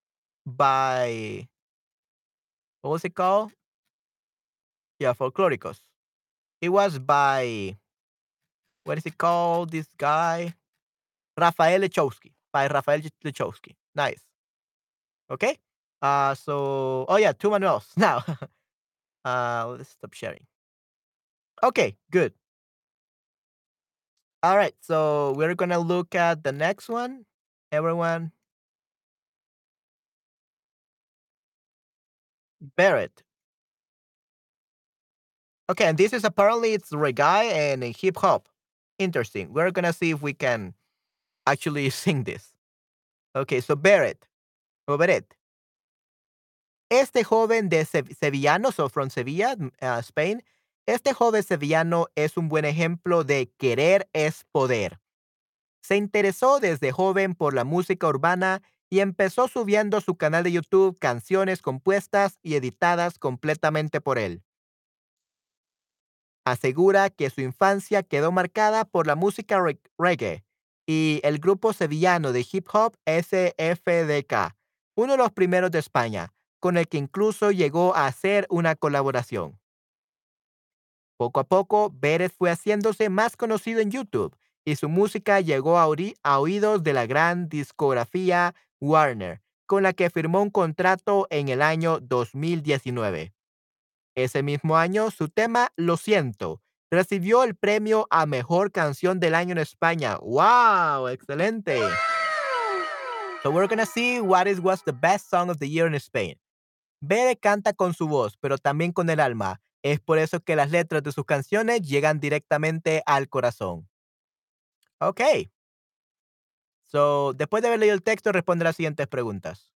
by what was it called? Yeah, Folklóricos. It was by what is it called? This guy Rafael Lechowski by Rafael Lechowski. Nice. Okay. Uh so oh yeah, two manuals now. uh let's stop sharing. Okay, good. All right, so we're gonna look at the next one. Everyone, Barrett. Okay, and this is apparently it's reggae and hip hop. Interesting. We're gonna see if we can actually sing this. Okay, so Barrett o Barrett. Este joven de Se- sevillano, so from Sevilla, mm, uh, Spain. Este joven sevillano es un buen ejemplo de querer es poder. Se interesó desde joven por la música urbana y empezó subiendo a su canal de YouTube canciones compuestas y editadas completamente por él. Asegura que su infancia quedó marcada por la música reg- reggae y el grupo sevillano de hip hop S F D K, uno de los primeros de España, con el que incluso llegó a hacer una colaboración. Poco a poco, Pérez fue haciéndose más conocido en YouTube y su música llegó a, ori- a oídos de la gran discografía Warner, con la que firmó un contrato en el año dos mil diecinueve. Ese mismo año, su tema Lo siento recibió el premio a mejor canción del año en España. ¡Wow! Excelente. So we're gonna see what is was the best song of the year in Spain. Bere canta con su voz, pero también con el alma. Es por eso que las letras de sus canciones llegan directamente al corazón. Ok. So, después de haber leído el texto, responde las siguientes preguntas.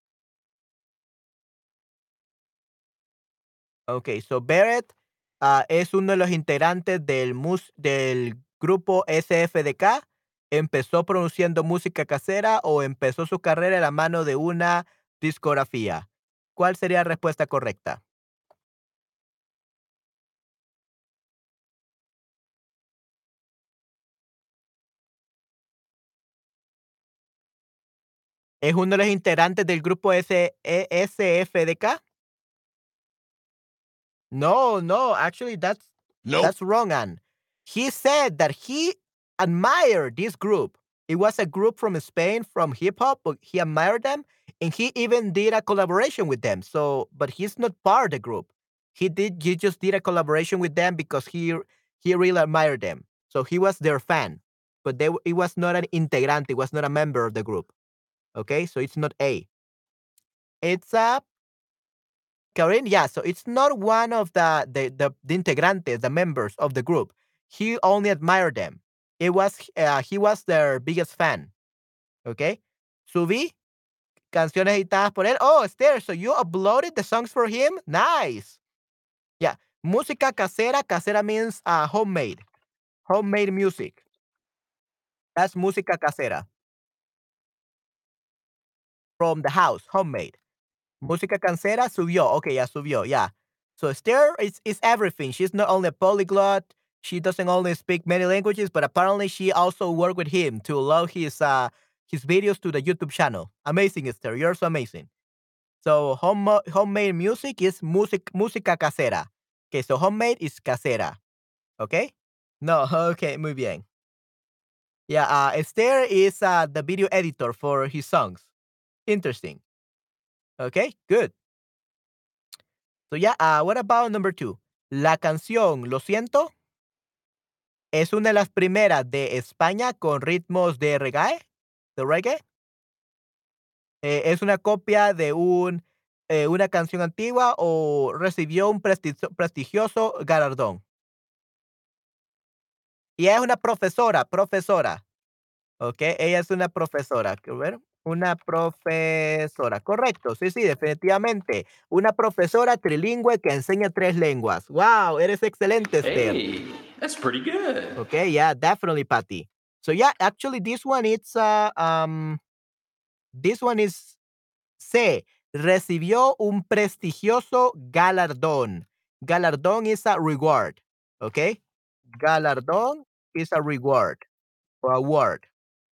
Ok, so Barrett ah, es uno de los integrantes del, mus- del grupo S F D K. ¿Empezó produciendo música casera o empezó su carrera de la mano de una discografía? ¿Cuál sería la respuesta correcta? ¿Es uno de los integrantes del grupo S E S F D K? No, no, actually that's Nope. that's wrong, Anne. He said that he admired this group. It was a group from Spain from hip hop, but he admired them and he even did a collaboration with them. So, but he's not part of the group. He did he just did a collaboration with them because he he really admired them. So he was their fan. But they it was not an integrante, it was not a member of the group. Okay? So it's not A. It's a Karen, yeah, so it's not one of the the the, the integrantes, the members of the group. He only admired them. It was uh, he was their biggest fan. Okay. Subí canciones editadas por él. Oh, Esther, so you uploaded the songs for him? Nice. Yeah. Música casera. Casera means uh, homemade. Homemade music. That's música casera. From the house. Homemade. Música cancera subió. Okay, ya subió. Yeah. So Esther is, is everything. She's not only a polyglot. She doesn't only speak many languages, but apparently she also worked with him to allow his uh his videos to the YouTube channel. Amazing, Esther. You're so amazing. So home, homemade music is music música casera. Okay, so homemade is casera. Okay? No, okay, muy bien. Yeah, uh, Esther is uh, the video editor for his songs. Interesting. Okay, good. So yeah, uh, what about number two? La canción Lo siento es una de las primeras de España con ritmos de reggae, de reggae. Eh, es una copia de un, eh, una canción antigua o recibió un prestigio- prestigioso galardón. Y es una profesora, profesora, ¿ok? Ella es una profesora, quiero ver. Una profesora, correcto, sí, sí, definitivamente. Una profesora trilingüe que enseña tres lenguas. ¡Wow! Eres excelente, Esther. Hey, that's pretty good. Okay, yeah, definitely, Patty. So yeah, actually, this one it's uh um this one is C. Recibió un prestigioso galardón. Galardón is a reward. Okay, galardón is a reward or award.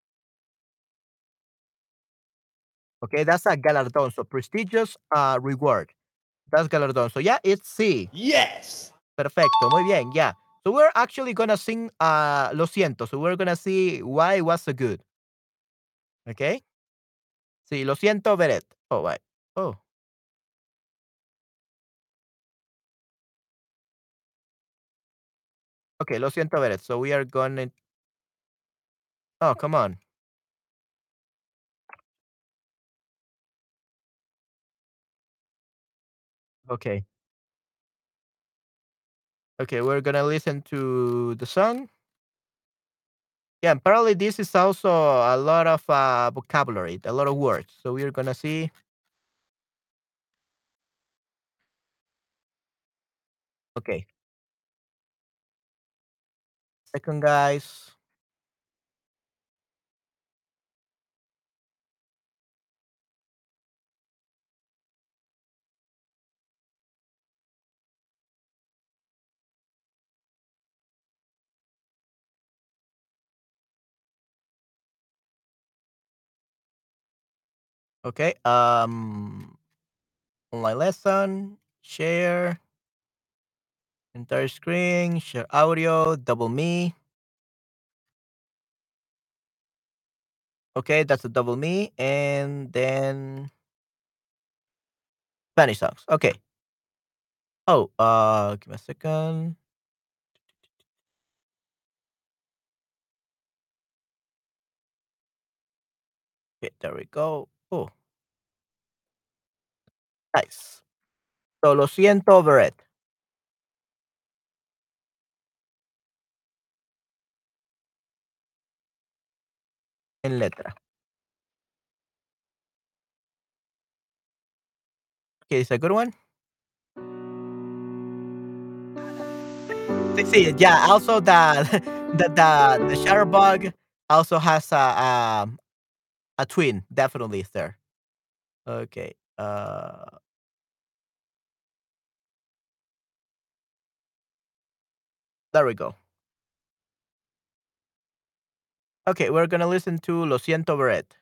Okay, that's a galardón. So prestigious uh reward. That's galardón. So yeah, it's C. Yes. Perfecto, muy bien, yeah. So we're actually gonna sing uh Lo siento. So we're gonna see why it was so good. Okay. Sí, lo siento, Beret. Oh, right. Oh, okay, lo siento, Beret. So we are gonna. Oh, come on. Okay. Okay, we're gonna listen to the song. Yeah, apparently this is also a lot of uh, vocabulary, a lot of words. So we're gonna see. Okay, second, guys. Okay. Um, online lesson, share, entire screen, share audio, double me. Okay, that's a double me, and then Spanish songs. Okay. Oh, uh, give me a second. Okay, there we go. Oh, nice. So, lo siento, Beret, en letra. Okay, it's a good one. Sí, sí, yeah, also the the the the Shutterbug also has a, um, a twin, definitely, sir. Okay, uh, there we go. Okay, we're gonna listen to Lo siento, Beret.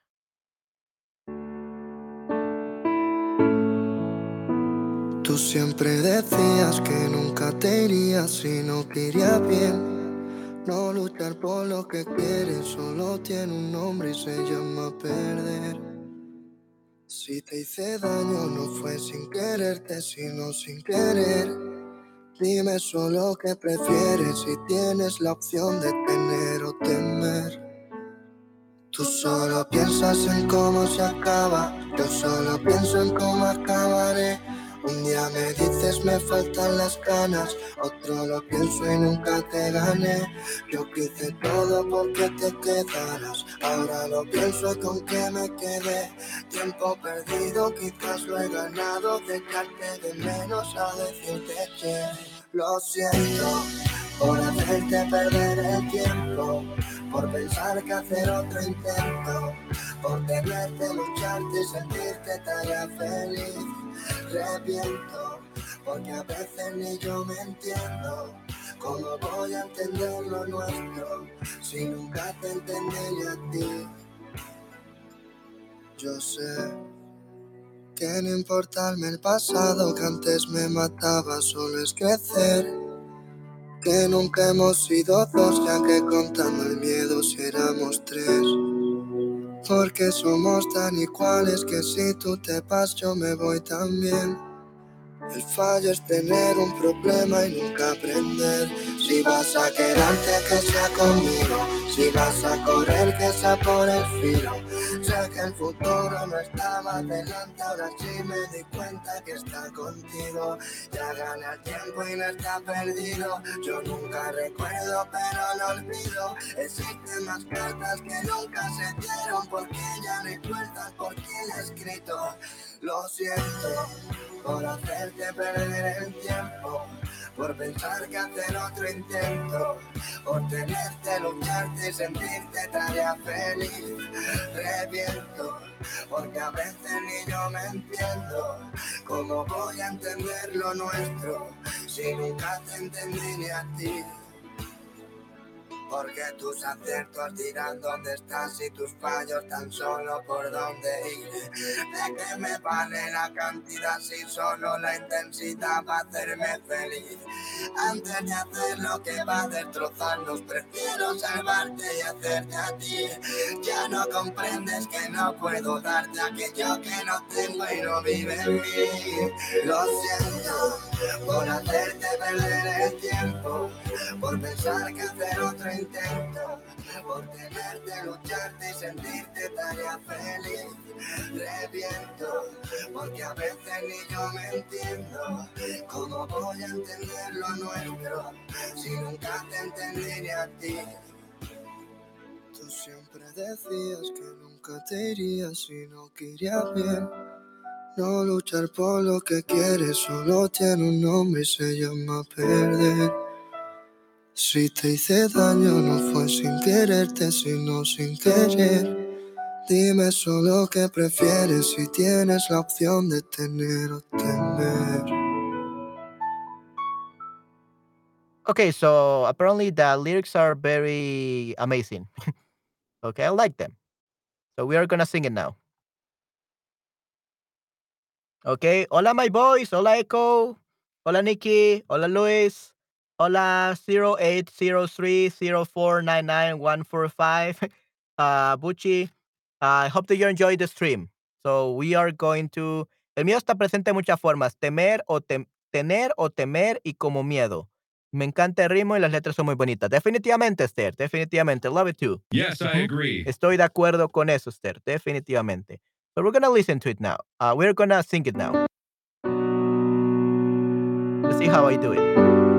Tú siempre decías que nunca te irías si no te iría bien. No luchar por lo que quieres solo tiene un nombre y se llama perder. Si te hice daño no fue sin quererte, sino sin querer. Dime solo qué prefieres si tienes la opción de tener o temer. Tú solo piensas en cómo se acaba, yo solo pienso en cómo acabaré. Un día me dices me faltan las ganas, otro lo pienso y nunca te gané. Yo quise todo porque te quedaras, ahora lo pienso y con que me quedé. Tiempo perdido, quizás lo he ganado, de echarte de menos a decirte que lo siento por hacerte perder el tiempo, por pensar que hacer otro intento, por tenerte, lucharte y sentirte tan feliz. Reviento, porque a veces ni yo me entiendo. ¿Cómo voy a entender lo nuestro si nunca te entendí ni a ti? Yo sé que no importarme el pasado que antes me mataba, solo es crecer. Que nunca hemos sido dos, ya que contando el miedo si éramos tres. Porque somos tan iguales que si tú te vas yo me voy también. El fallo es tener un problema y nunca aprender. Si vas a quedarte que sea conmigo, si vas a correr que sea por el filo. Sé que el futuro no estaba delante, ahora sí me di cuenta que está contigo. Ya gana el tiempo y no está perdido. Yo nunca recuerdo pero lo olvido. Existen más cartas que nunca se dieron, porque ya recuerdas por quién he escrito. Lo siento por hacerte perder el tiempo, por pensar que hacer otro intento, por tenerte, lucharte y sentirte tarea feliz. Reviento, porque a veces ni yo me entiendo. ¿Cómo voy a entender lo nuestro si nunca te entendí ni a ti? Porque tus aciertos dirán dónde estás y tus fallos tan solo por dónde ir. ¿De qué me vale la cantidad si solo la intensidad va a hacerme feliz? Antes de hacer lo que va a destrozarnos, prefiero salvarte y hacerte a ti. Ya no comprendes que no puedo darte aquello que no tengo y no vive en mí. Lo siento por hacerte perder el tiempo, por pensar que hacer otro intento, por tenerte, lucharte y sentirte tarea feliz. Reviento, porque a veces ni yo me entiendo. ¿Cómo voy a entender lo nuestro si nunca te entendí ni a ti? Tú siempre decías que nunca te irías si no querías bien. No luchar por lo que quieres solo tiene un nombre y se llama perder. Si te hice daño no fue sin quererte, sino sin querer. Dime solo qué prefieres si tienes la opción de tener o temer. Okay, so apparently the lyrics are very amazing. Okay, I like them. So we are gonna sing it now. Okay, hola my boys, hola Echo, hola Nikki, hola Luis, hola zero eight zero three zero four nine nine one four five, uh, Bucci. I hope that you enjoyed the stream. So we are going to. El mío está presente de muchas formas, temer o tem tener o temer y como miedo. Me encanta el ritmo y las letras son muy bonitas. Definitivamente, Esther, definitivamente. Love it too. Yes, I Ujú. agree. Estoy de acuerdo con eso, Esther, definitivamente. So we're gonna listen to it now. Uh, we're gonna sing it now. Let's see how I do it.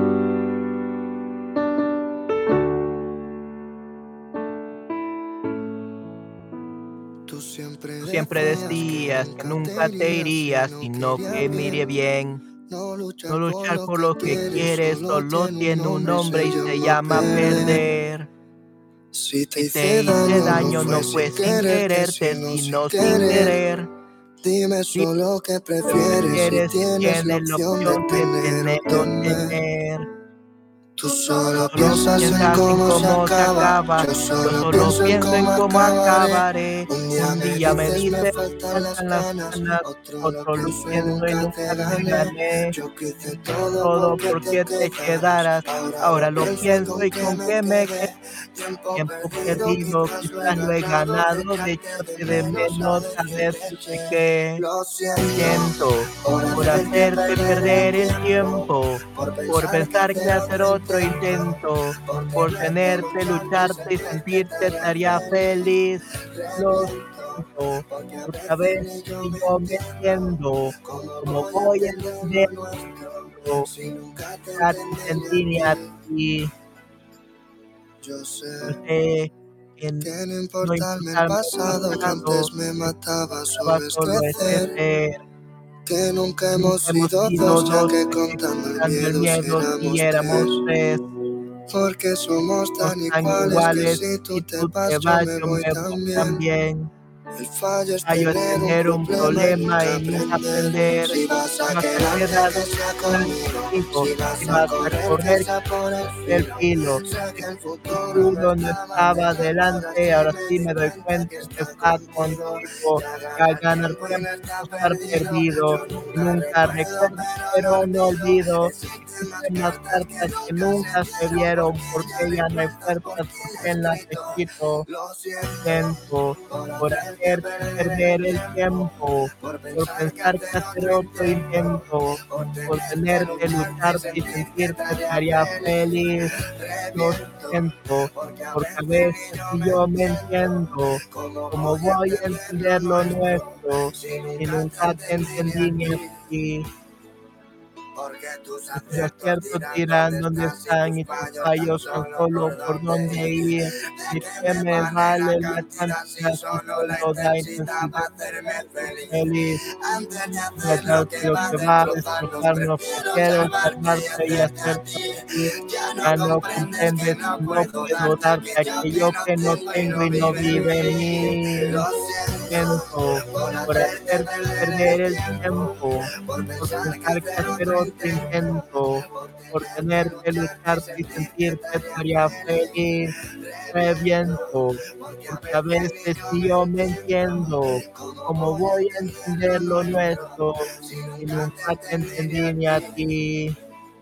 Tú siempre Tú siempre decías que decías que nunca te nunca te irías, irías, sino que sino iría que me iría bien. bien. No luchar No por luchar lo por que lo que quieres, quieres solo solo tiene un tiene un nombre y nombre se y se llama llama perder. perder. Si te Si te hice hice daño, no daño, fue no sin fue sin quererte, quererte, sino sin sino sin querer. querer. Dime Dime solo qué qué prefieres si prefieres si tienes la tienes la opción de opción de tener o tener o temer. temer. Tú solo Solo piensas en piensas en cómo se cómo se acaba, acaba, yo yo solo solo pienso en pienso en cómo cómo acabaré. acabaré. Un día Un me día me dices me dices, faltan las faltan las ganas, ganas, otro lo otro lo pienso y pienso y nunca nunca te te gané. gané. Yo quise todo Todo porque te porque te quedaras, quedaras, ahora ahora lo lo pienso y pienso con y que con me qué me quedé. quedé. Tiempo Tiempo perdido, perdido, quizás lo he quizás lo he ganado, de ganado, de echarte de echarte de menos a menos a decirte decirte que que lo siento siento por por hacerte hacerte perder el perder el tiempo, tiempo, por por pensar que pensar que hacer hacer otro otro intento, intento, por por tenerte, tenerte, lucharte y lucharte y sentir que te sentirte te haría haría feliz. feliz. Lo Reviento, siento, porque a porque a veces veces ni yo ni me yo me entiendo entiendo cómo cómo voy a voy a entender entender lo nuestro lo si nunca te que te entendí ni a entendí ni a ti. ti. Yo Yo sé sé que n- que no no importarme el importarme el pasado que pasado, antes me mataba, estaba solo es solo es crecer. crecer. Que nunca Nunca hemos hemos sido sido dos, ya dos, que ya que contando el contando el miedo si miedo si éramos tres. éramos tres. Porque somos Somos tan tan iguales que iguales, si tú si te tú te vas yo vas, me yo voy me voy también. también. El fallo es Fallo es tener un tener un problema y problema nunca y nunca aprender. aprender. Si vas a Vas a quedarte quedarte que sea conmigo, conmigo, si vas si a vas a correr que correr sea por el el filo. filo. Sé Sé que el que tu futuro no futuro no estaba estaba delante, ahora adelante, sí ahora me sí di me doy cuenta cuenta que que está está contigo. contigo, Ya que al ganar ganar tiempo y tiempo no no está estar perdido. perdido, Yo y nunca nunca recuerdo, recuerdo, pero no pero no olvido. olvido. Existen más Existen más cartas que cartas que nunca se nunca se vieron, vieron, porque ya porque no hay ya no hay puertas por puertas ti por quien las he escrito. escrito. Lo siento Siento por por hacerte hacerte perder el perder el tiempo, tiempo, por por pensar que pensar que hacer hacer otro otro intento, intento, por por tenerte, tenerte, lucharte y lucharte y sentir que te sentirte te haría haría feliz. feliz. Lo Reviento, siento, porque a porque a veces veces ni yo ni me yo me entiendo, entiendo cómo cómo voy a voy a entender lo entender lo nuestro, nuestro si si nunca te nunca te entendí ni entendí a ni a ti. ti. Porque tus Tus aciertos aciertos dirán dónde dirán dónde están y tus están y tus fallos tan fallos tan solo solo por por dónde dónde ir. ir. ¿De ¿De qué qué me me vale la vale la cantidad si cantidad si solo la solo da intensidad va intensidad a hacerme feliz? feliz? Antes de Ya hacer lo sabes que que lo va a que va a destrozarnos, destrozarnos, prefiero prefiero salvarte y salvarte y hacerte a hacerte ti. a ti. Ya no Ya no comprendes que comprendes no que no puedo puedo darte darte aquello que aquello no que no tengo y tengo no y no vive en vive en mí. mí. Lo siento Siento por por hacerte hacerte perder perder el el tiempo, tiempo, por por pensar que pensar que hacer hacer otro otro intento, intento, por por tenerte, tenerte, lucharte y lucharte y sentir que te sentirte te haría haría feliz. feliz. Reviento, Reviento, porque a porque a veces ni veces yo ni me yo me entiendo, entiendo cómo cómo voy a voy a entender lo entender lo nuestro, nuestro si si nunca te nunca te entendí ni a entendí ni a ti. ti.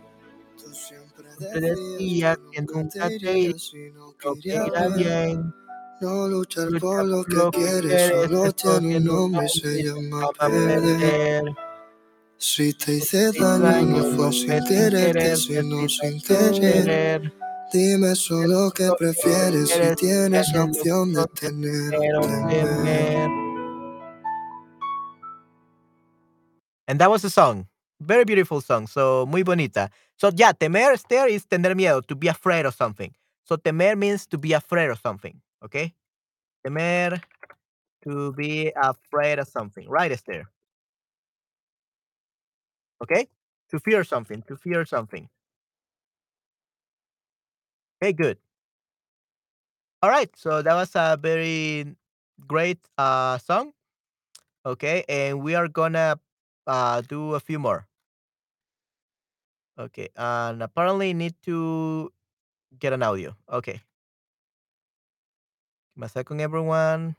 Tú siempre Siempre decías decía que que nunca nunca te te iría, irías, sino que lo que iría irá bien. bien. No luchar por Lucha lo por que lo que quieres, quieres, solo eso tiene un tiene un nombre y nombre se y se llama llama perder. perder. Si te No hice te hice daño, no daño, fue no sin fue sin quererte, quererte, sino sino sin sin querer. querer. Dime solo qué Lo que prefieres si prefieres si tienes la tienes la opción de opción de tener o tener o temer. temer. And that was the song. Very beautiful song. So, muy bonita. So, yeah, temer, stare is tener miedo, to be afraid of something. So, temer means to be afraid of something. Okay? Temer, to be afraid of something. Right, Esther? Okay? To fear something, to fear something. Okay, good. All right. So, that was a very great uh, song. Okay. And we are gonna uh, do a few more. Okay. And apparently, need to get an audio. Okay. Give me a second, everyone.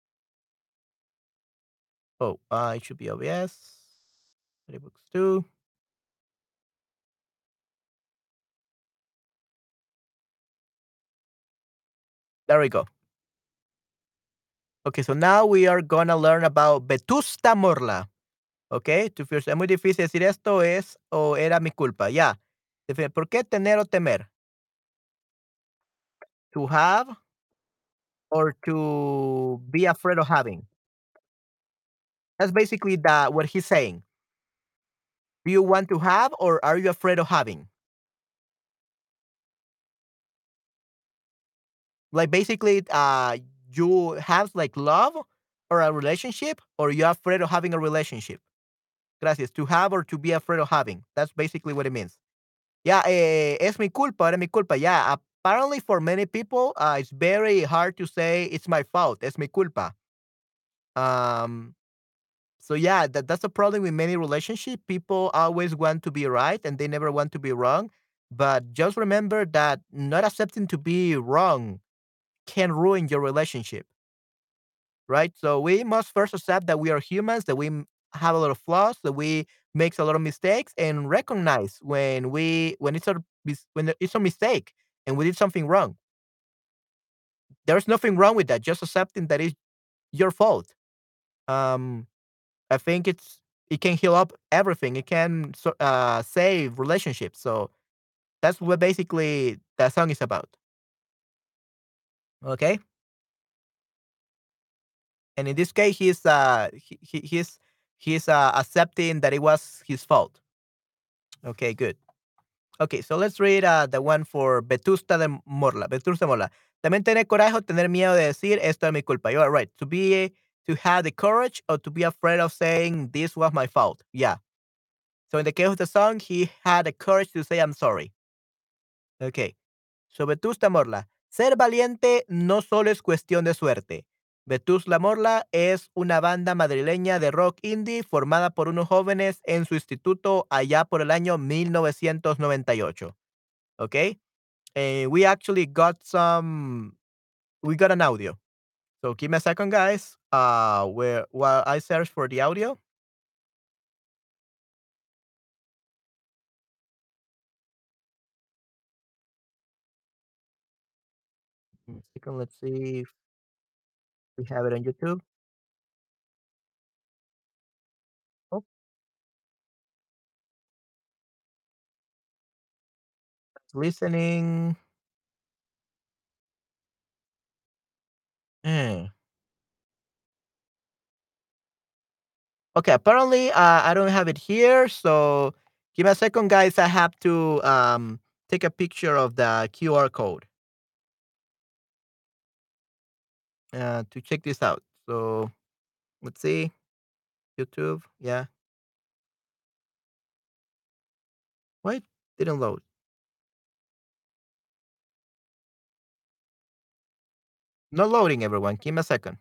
Oh, uh, it should be O B S. Books too. There we go. Okay, so now we are gonna learn about Vetusta Morla. ¿ok? To fear. Es muy difícil decir esto, es o era mi culpa. Ya. Defi- ¿Por qué tener o temer? To have or to be afraid of having. That's basically the what he's saying. Do you want to have or are you afraid of having? Like basically, uh, you have like love or a relationship, or you're afraid of having a relationship. Gracias. To have or to be afraid of having. That's basically what it means. Yeah, eh, es mi culpa, era mi culpa. Yeah, apparently for many people, uh, it's very hard to say it's my fault. Es mi culpa. Um, so yeah, that, that's a problem with many relationships. People always want to be right and they never want to be wrong. But just remember that not accepting to be wrong can ruin your relationship, right? So we must first accept that we are humans, that we m- have a lot of flaws, that we makes a lot of mistakes, and recognize when we when it's a mis- when it's a mistake and we did something wrong. There's nothing wrong with that. Just accepting that it's your fault. Um, I think it's it can heal up everything. It can so- uh, save relationships. So that's what basically that song is about. Okay, and in this case, he's uh he, he, he's he's uh, accepting that it was his fault. Okay, good. Okay, so let's read uh, the one for Vetusta de Morla. Vetusta Morla. También tener coraje o tener miedo de decir esto es mi culpa. You are right. To be to have the courage or to be afraid of saying this was my fault. Yeah. So in the case of the song, he had the courage to say I'm sorry. Okay. So Vetusta Morla. Ser valiente no solo es cuestión de suerte. Vetusta Morla es una banda madrileña de rock indie formada por unos jóvenes en su instituto allá por el año mil novecientos noventa y ocho. Okay. And we actually got some we got an audio. So give me a second, guys. Uh where while I search for the audio. One second, let's see if we have it on YouTube. Oh, it's listening. Eh. Okay, apparently uh, I don't have it here. So give me a second, guys. I have to um take a picture of the Q R code uh, to check this out. So let's see. YouTube. Yeah. Why it didn't load? Not loading, everyone. Give me a second.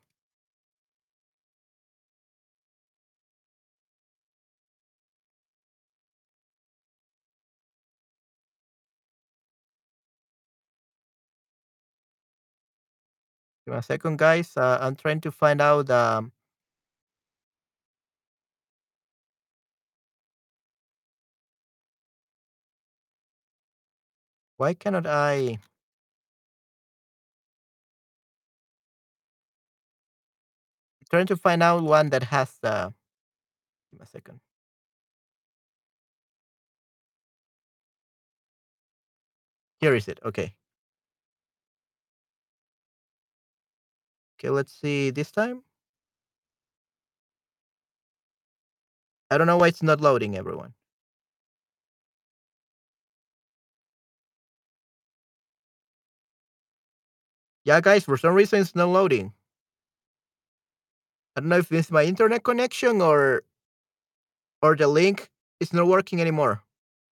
Give me a second, guys. Uh, I'm trying to find out. Um, why cannot I? Trying to find out one that has the. Give me a second. Here is it. Okay. Okay. Let's see this time. I don't know why it's not loading, everyone. Yeah, guys. For some reason, it's not loading. I don't know if it's my internet connection or or the link is not working anymore.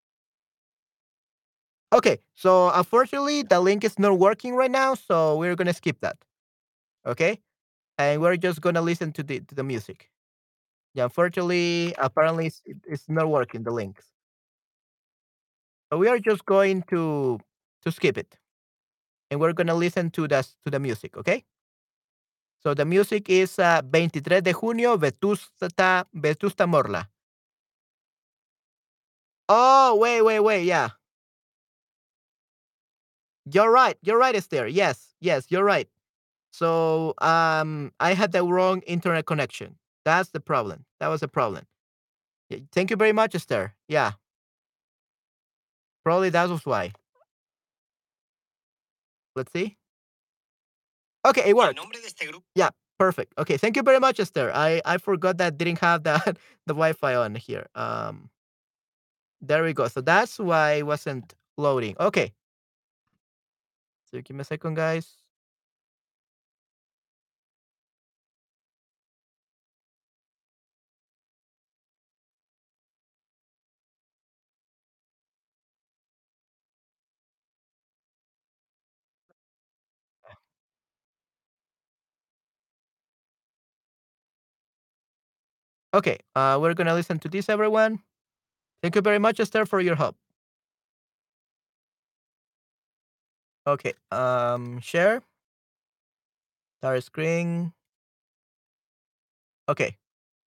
Okay. So unfortunately, the link is not working right now. So we're gonna skip that. Okay. And we're just gonna listen to the to the music. Yeah. Unfortunately, apparently, it's, it's not working. The links. So we are just going to to skip it, and we're gonna listen to the to the music, okay? So the music is uh, veintitrés de junio, Vetusta Vetusta Morla. Oh, wait, wait, wait, yeah. You're right. You're right, Esther. Yes, yes, you're right. So um, I had the wrong internet connection. That's the problem. That was the problem. Y- Thank you very much, Esther. Yeah, probably that was why. Let's see. Okay, it Y el worked. nombre de este grupo. Yeah, perfect. Okay, thank you very much, Esther. I I forgot that didn't have that the Wi-Fi on here. Um, there we go. So that's why it wasn't loading. Okay, so give me a second, guys. Okay, uh, we're gonna listen to this, everyone. Thank you very much, Esther, for your help. Okay, um, share, start screen. Okay,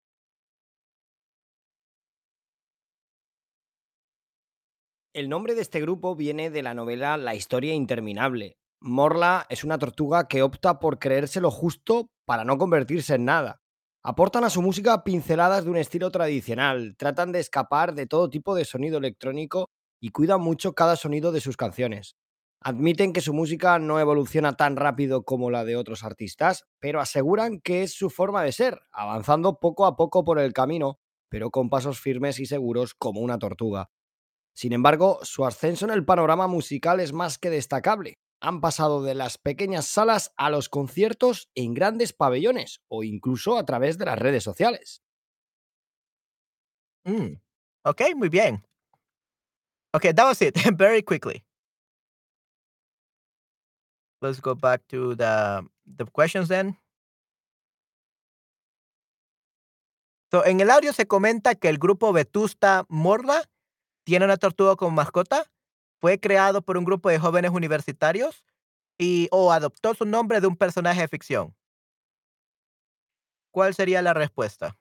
El nombre de este grupo viene de la novela La historia interminable. Morla es una tortuga que opta por creerse lo justo para no convertirse en nada. Aportan a su música pinceladas de un estilo tradicional, tratan de escapar de todo tipo de sonido electrónico y cuidan mucho cada sonido de sus canciones. Admiten que su música no evoluciona tan rápido como la de otros artistas, pero aseguran que es su forma de ser, avanzando poco a poco por el camino, pero con pasos firmes y seguros como una tortuga. Sin embargo, su ascenso en el panorama musical es más que destacable. Han pasado de las pequeñas salas a los conciertos en grandes pabellones o incluso a través de las redes sociales. mm. Okay, muy bien. Okay, that was it. Very quickly. Let's go back to the the questions then. So, en el audio se comenta que el grupo Vetusta Morla tiene una tortuga como mascota. Fue creado por un grupo de jóvenes universitarios y o adoptó su nombre de un personaje de ficción. ¿Cuál sería la respuesta?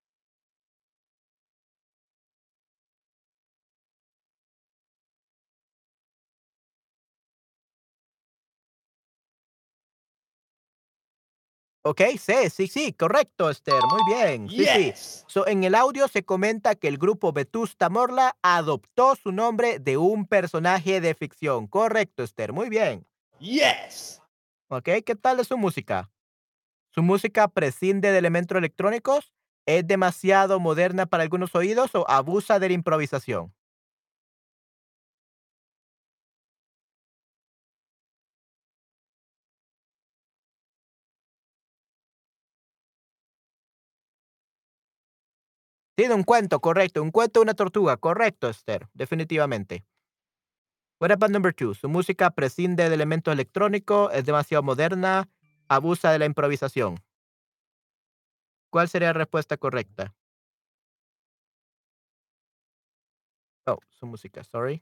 Okey, sí, sí, sí, correcto, Esther, muy bien. Sí, sí. Yes. So, en el audio se comenta que el grupo Vetusta Morla adoptó su nombre de un personaje de ficción. Correcto, Esther, muy bien. Yes. Okey, ¿qué tal es su música? ¿Su música prescinde de elementos electrónicos? ¿Es demasiado moderna para algunos oídos o abusa de la improvisación? Tiene un cuento, correcto. Un cuento de una tortuga, correcto, Esther, definitivamente. What about number two? Su música prescinde de elementos electrónicos, es demasiado moderna, abusa de la improvisación. ¿Cuál sería la respuesta correcta? Oh, su música, sorry.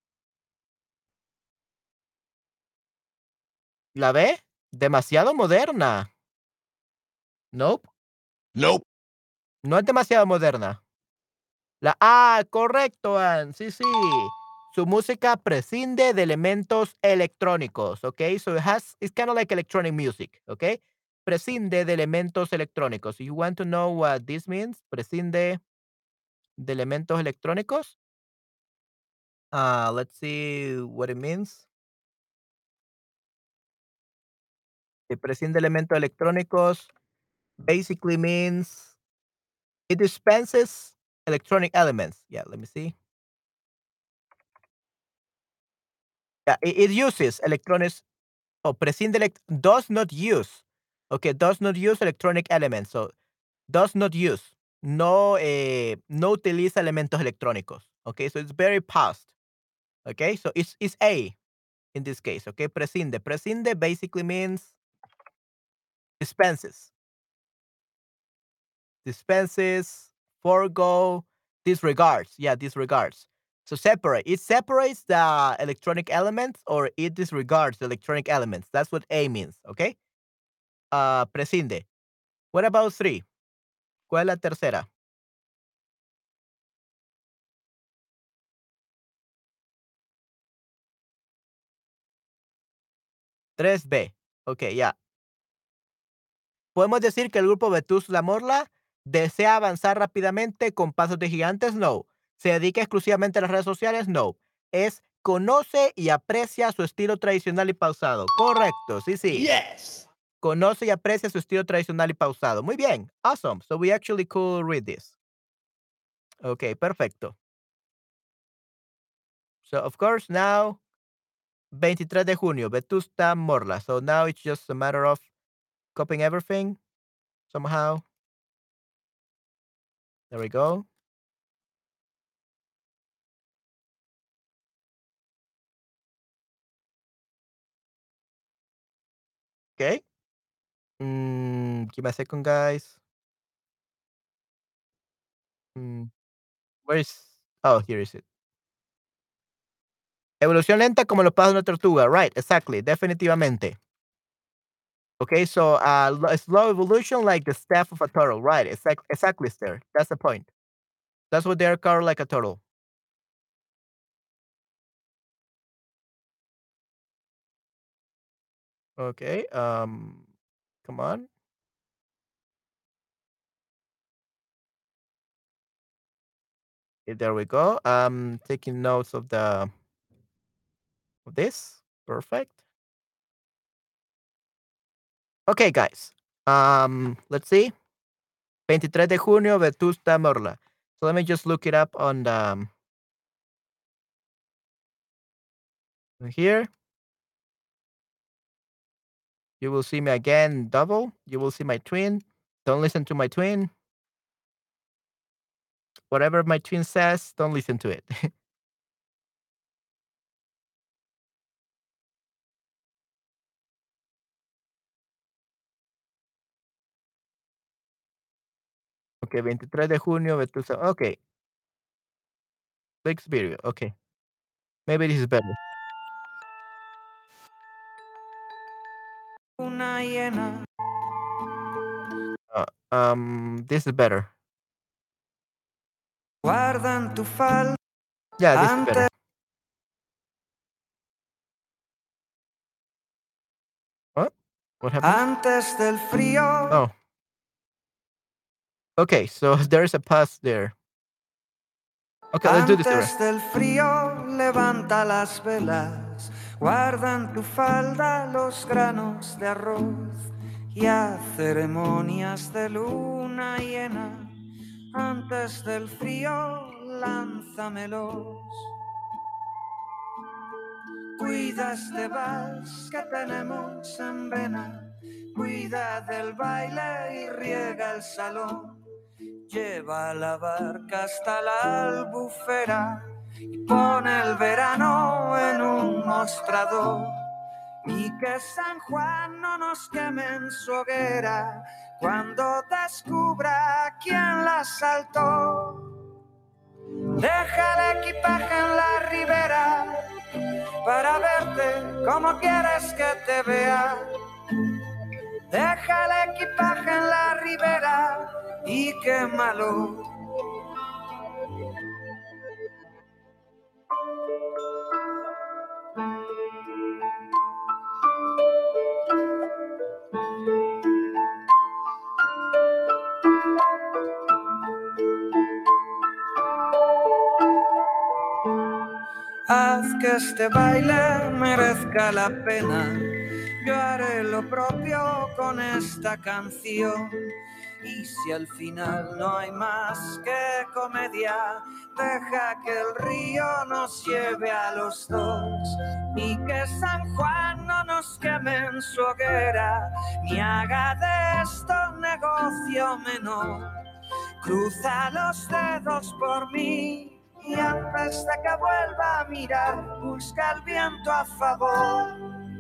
¿La B? Demasiado moderna. Nope, Nope. no es demasiado moderna. La A, correcto, Ann. Sí, sí. Su música prescinde de elementos electrónicos, ¿ok? So it has, it's kind of like electronic music, ¿ok? Prescinde de elementos electrónicos. You want to know what this means? Prescinde de elementos electrónicos. Uh, let's see what it means. Eh, prescinde de elementos electrónicos basically means it dispenses electronic elements. Yeah, let me see. Yeah, it, it uses electronics. Oh, prescinde elect does not use. Okay, does not use electronic elements. So, does not use. No, eh, no utiliza elementos electrónicos. Okay, so it's very past. Okay, so it's, it's A in this case. Okay, prescinde. Prescinde basically means dispenses. Dispenses, forego, disregards. Yeah, disregards. So separate. It separates the electronic elements or it disregards the electronic elements. That's what A means. Okay. Uh, prescinde. What about three? ¿Cuál es la tercera? tres B. Ok, ya. Podemos decir que el grupo Vetus La Morla ¿Desea avanzar rápidamente con pasos de gigantes? No. ¿Se dedica exclusivamente a las redes sociales? No. Es conoce y aprecia su estilo tradicional y pausado. Correcto, sí, sí. Yes. Conoce y aprecia su estilo tradicional y pausado. Muy bien. Awesome. So we actually could read this. Okay, perfecto. So of course now, veintitrés de junio, Vetusta Morla. So now it's just a matter of copying everything somehow. There we go. Okay. Mm, give me a second, guys. Mm, where is? Oh, here is it. Evolución lenta como los pasos de una tortuga. Right, exactly, definitivamente. Okay, so uh, lo- slow evolution like the staff of a turtle. Right, exact, exactly, sir. That's the point. That's what they're called, like a turtle. Okay. Um, come on. Okay, there we go. Um, taking notes of the of this. Perfect. Okay, guys. Um, let's see. veintitrés de junio, Vetusta Morla. So let me just look it up on the um, here. You will see me again double. You will see my twin. Don't listen to my twin. Whatever my twin says, don't listen to it. Okay, veintitrés de junio, Vetusta. Okay, next video. Okay, maybe this is better. Una hiena. Uh, um, this is better. Guarda en tu falda Yeah, this is antes, better. What? What happened? antes del frío. Oh. Okay, so there's a pause there. Okay, let's do this the Antes rest. del frío, levanta las velas. Guarda en tu falda los granos de arroz. Y haz ceremonias de luna llena. Antes del frío, lánzamelos. Cuida este vals que tenemos en vena. Cuida del baile y riega el salón. Lleva la barca hasta la albufera y pone el verano en un mostrador. Y que San Juan no nos queme en su hoguera cuando descubra quién la saltó. Deja el equipaje en la ribera para verte como quieres que te vea. Deja el equipaje en la ribera y quémalo. Haz que este baile merezca la pena. Yo haré lo propio con esta canción. Y si al final no hay más que comedia, deja que el río nos lleve a los dos. Y que San Juan no nos queme en su hoguera, ni haga de esto un negocio menor. Cruza los dedos por mí. Y antes de que vuelva a mirar, busca el viento a favor.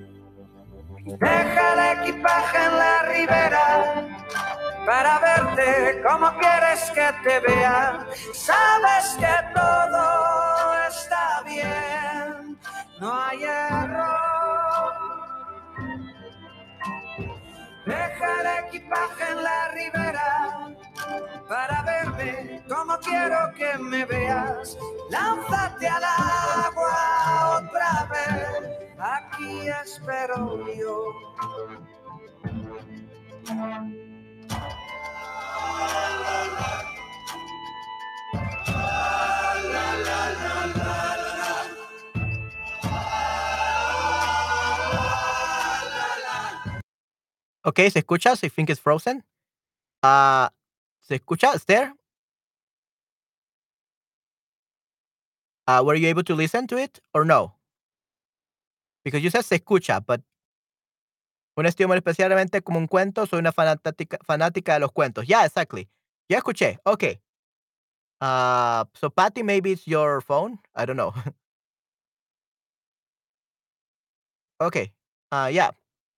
Deja el equipaje en la ribera para verte como quieres que te vea. Sabes que todo está bien, no hay error. Deja el equipaje en la ribera para verme como quiero que me veas. Lánzate al agua otra vez, aquí espero yo. Okey, ¿se escucha? I think it's frozen. Ah, ¿se escucha, Esther? Ah, were you able to listen to it or no? Because you said se escucha, but un estilo muy especialmente como un cuento, soy una fanática fanática de los cuentos. Yeah, exactly. Ya escuché. Okay. Uh, so Patty, maybe it's your phone. I don't know. Okay. Uh, yeah.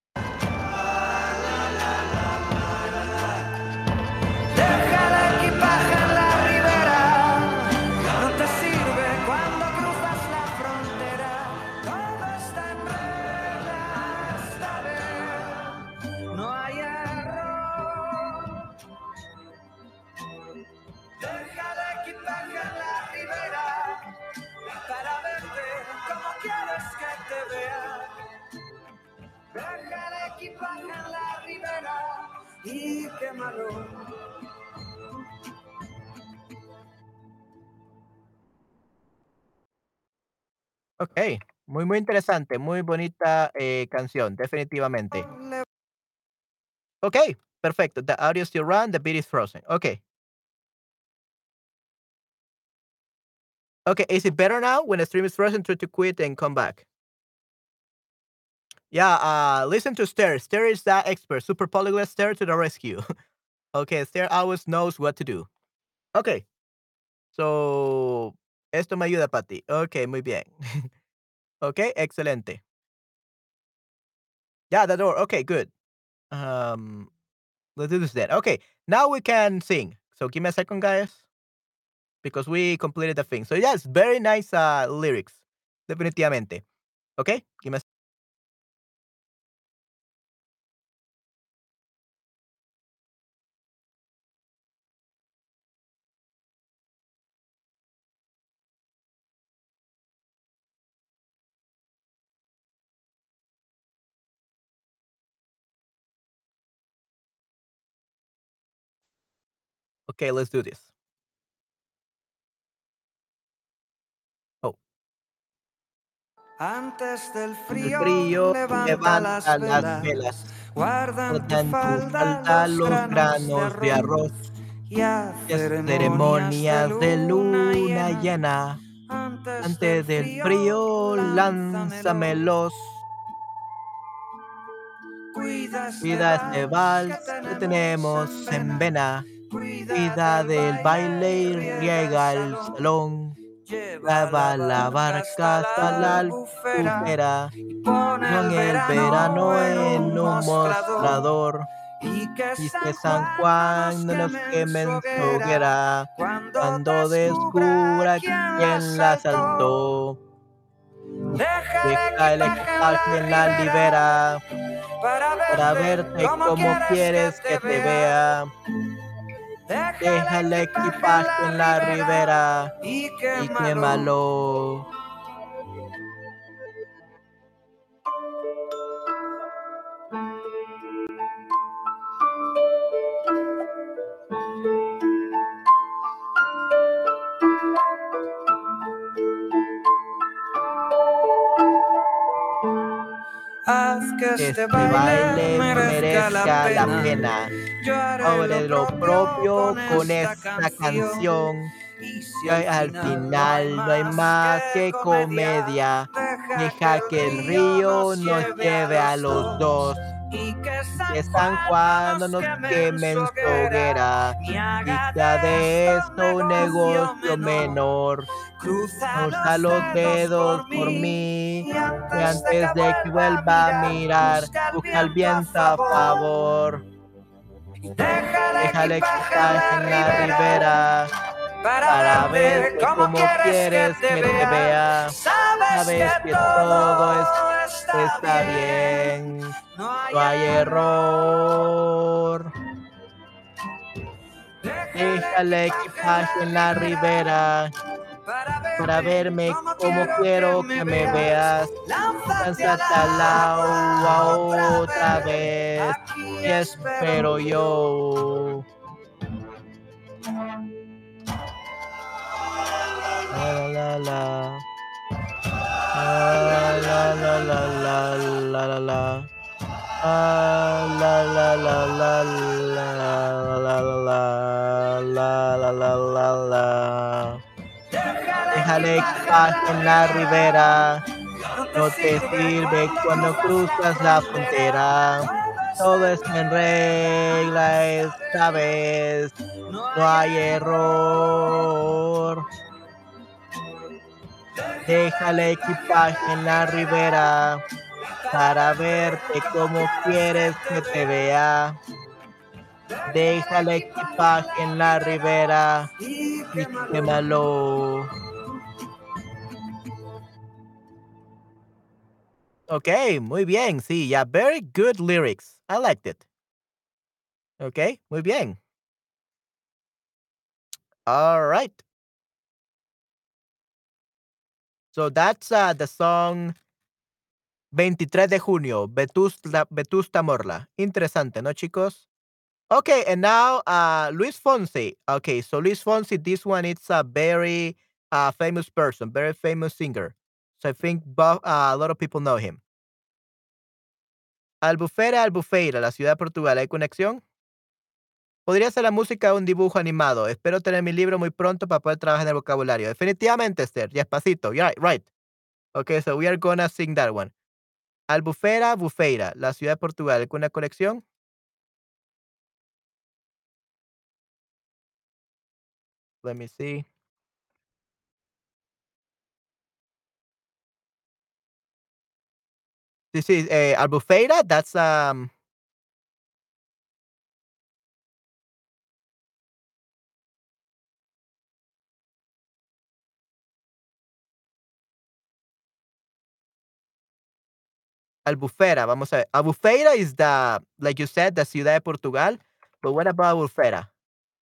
Deja el equipaje en la ribera, no te sirve cuando cruzas la frontera. Todo está en regla esta vez, no hay error. Deja el equipaje en la ribera para verte como quieres que te vea. Deja el equipaje en la ribera y quémalo. Okey. Muy, muy interesante, muy bonita, eh, canción, definitivamente. Okey, perfecto. The audio still run, the beat is frozen. Okay. Okay, is it better now? When the stream is frozen, try to quit and come back. Yeah, uh, listen to Esther. Esther is the expert. Super polyglot Esther to the rescue. Okay, Esther always knows what to do. Okay. So, esto me ayuda, Patty. Okay, muy bien. Okay, excelente. Yeah, the door. Okay, good. Um, let's do this then. Okay, now we can sing. So give me a second, guys, because we completed the thing. So yes, very nice uh, lyrics, definitivamente. Okay, give me. A Okay, let's do this. Oh, Antes del el frío, frío levanta las levanta las velas, velas, guarda en tu guarda en tu falda falda los los granos de granos de arroz. arroz y haz Y haz ceremonias de ceremonias de luna luna llena. llena. Antes del Antes del frío, frío, lánzamelos. lánzamelos. Cuida este Cuida este vals que vals que tenemos en tenemos en vena. vena. Cuida Cuida del del baile baile y y riega el riega el salón. salón. Lleva la Lleva la barca hasta barca hasta la la albufera albufera. y pon Pon el el verano verano en en un un mostrador. mostrador. Y que Y que San San Juan no nos Juan no nos queme en su queme en su hoguera hoguera. cuando Cuando descubra descubra quién la quién la asaltó. asaltó. Deja el Deja el equipaje en equipaje la en la ribera libera. para Para verte verte como como quieres que quieres te que te vea. vea. Deja Deja el el equipaje en equipaje la en la ribera ribera y y quémalo. quémalo. Haz que este Este baile baile merezca la merezca la pena. pena. Yo haré lo Sobre lo propio propio con con esta esta canción. canción. Y si Y al al final no hay final no hay más más que que comedia, comedia. deja que Deja el que el río río nos nos lleve a lleve a los los dos. dos. Y que Y San que San Juan no Juan no nos nos queme en queme su en su hoguera, hoguera. ni Y haga que haga de de esto un esto un negocio negocio menor. menor. Cruza Cruza los los dedos dedos por por mí mí. y Y antes de que antes de que vuelva a vuelva a mirar, mirar, busca el busca el viento a viento a favor. favor. Deja el Deja el equipaje en equipaje la en la ribera ribera. para Para verte verte como como quieres que quieres te que te vea. vea. Sabes Sabes que que todo es, todo está está bien, bien. no hay No hay error. error. Deja Deja el el equipaje en equipaje la en la ribera ribera. para Para verme verme como como quiero que quiero me que me veas. veas. Lánzate al Lánzate al agua agua otra otra vez, vez. aquí Y espero espero yo. La la la la. La la la la la la la. Ah, la, la, la, la, la, la, la, la, la, la, la, la. Deja el equipaje en la ribera, no te sirve cuando cruzas la frontera. Todo está en regla esta vez, no hay error. Deja el equipaje en la ribera para verte como quieres que te vea. Deja el equipaje en la ribera y quémalo. Okey, muy bien, sí, yeah, very good lyrics. I liked it. Okey, muy bien. Alright. So that's, uh, the song veintitrés de junio, Vetusta Vetusta Morla. Interesante, ¿no, chicos? Okay, and now, uh, Luis Fonsi. Okay, so Luis Fonsi, this one, it's a very, uh, famous person, very famous singer. So I think bo uh, a lot of people know him. Albufera, Albufeira, la ciudad de Portugal, ¿hay conexión? Podría ser la música de un dibujo animado. Espero tener mi libro muy pronto para poder trabajar en el vocabulario. Definitivamente, Esther. Despacito. Yeah, right. Okay, so we are gonna sing that one. Albufera, Bufeira, la ciudad de Portugal. ¿Alguna conexión? Let me see. This is eh, Albufeira. That's um Albufera. Vamos a ver. Albufeira is the, like you said, the ciudad de Portugal. But what about Albufera?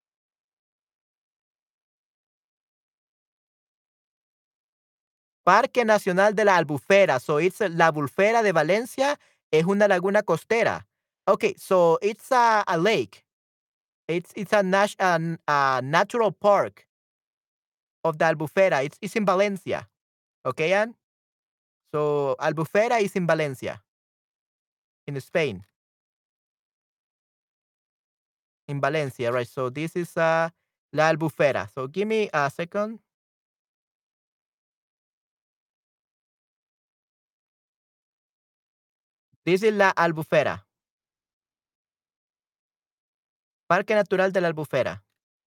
Parque Nacional de la Albufera. So it's uh, la Albufera de Valencia es una laguna costera. Okay, so it's a, a lake. It's it's a, nat- an- a natural park of the Albufera. It's it's in Valencia. Okay, Anne? So Albufera is in Valencia, in Spain. In Valencia, right? So this is uh La Albufera. So give me a second. This is La Albufera. Parque Natural de la Albufera,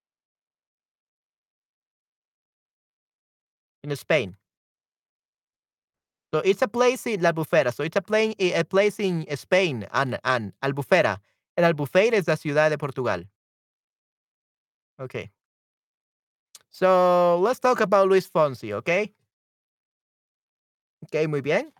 in Spain. So it's a place in La Albufera. So it's a plane a place in Spain and and Albufera. El Albufeira es la ciudad de Portugal. Okay. So let's talk about Luis Fonsi, okay? Okay, muy bien.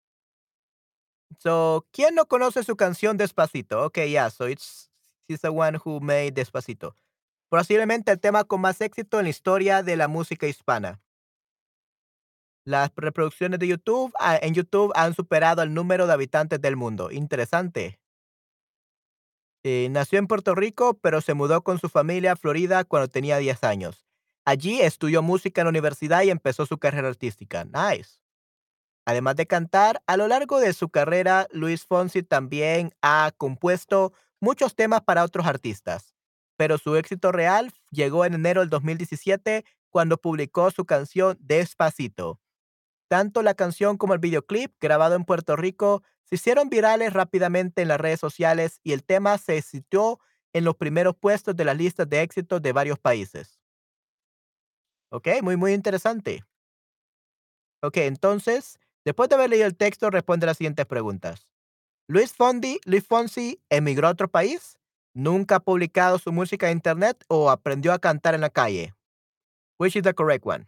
So, ¿quién no conoce su canción Despacito? Okay, yeah, so it's he's the one who made Despacito. Posiblemente el tema con más éxito en la historia de la música hispana. Las reproducciones de YouTube ah, en YouTube han superado el número de habitantes del mundo. Interesante. Eh, nació en Puerto Rico, pero se mudó con su familia a Florida cuando tenía diez años. Allí estudió música en la universidad y empezó su carrera artística. Nice. Además de cantar, a lo largo de su carrera, Luis Fonsi también ha compuesto muchos temas para otros artistas, pero su éxito real llegó en enero del dos mil diecisiete cuando publicó su canción Despacito. Tanto la canción como el videoclip, grabado en Puerto Rico, se hicieron virales rápidamente en las redes sociales y el tema se situó en los primeros puestos de las listas de éxitos de varios países. Ok, muy, muy interesante. Ok, entonces, después de haber leído el texto, responde las siguientes preguntas. Luis Fondi, Luis Fonsi emigró a otro país, nunca ha publicado su música en internet o aprendió a cantar en la calle. Which is the correct one?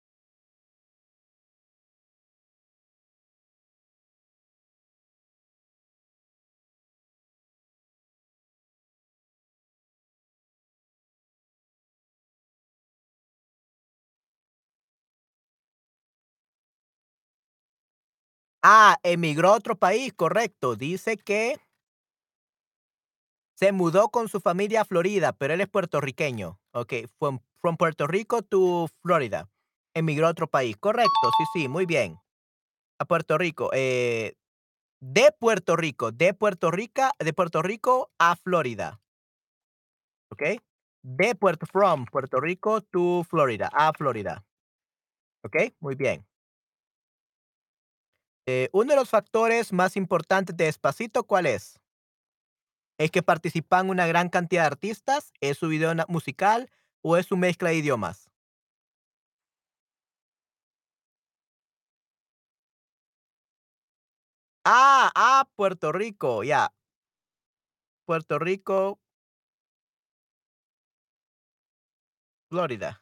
Ah, emigró a otro país, correcto. Dice que se mudó con su familia a Florida, pero él es puertorriqueño. Ok, from, from Puerto Rico to Florida. Emigró a otro país, correcto. Sí, sí, muy bien. A Puerto Rico. Eh, De Puerto Rico, de Puerto Rica de Puerto Rico a Florida, ¿okey? De Puerto from Puerto Rico to Florida, a Florida, ¿okey? Muy bien. Eh, uno de los factores más importantes de Despacito, ¿cuál es? ¿Es que participan una gran cantidad de artistas? ¿Es su video na musical o es su mezcla de idiomas? Ah, ah, Puerto Rico, ya. Puerto Rico, Florida.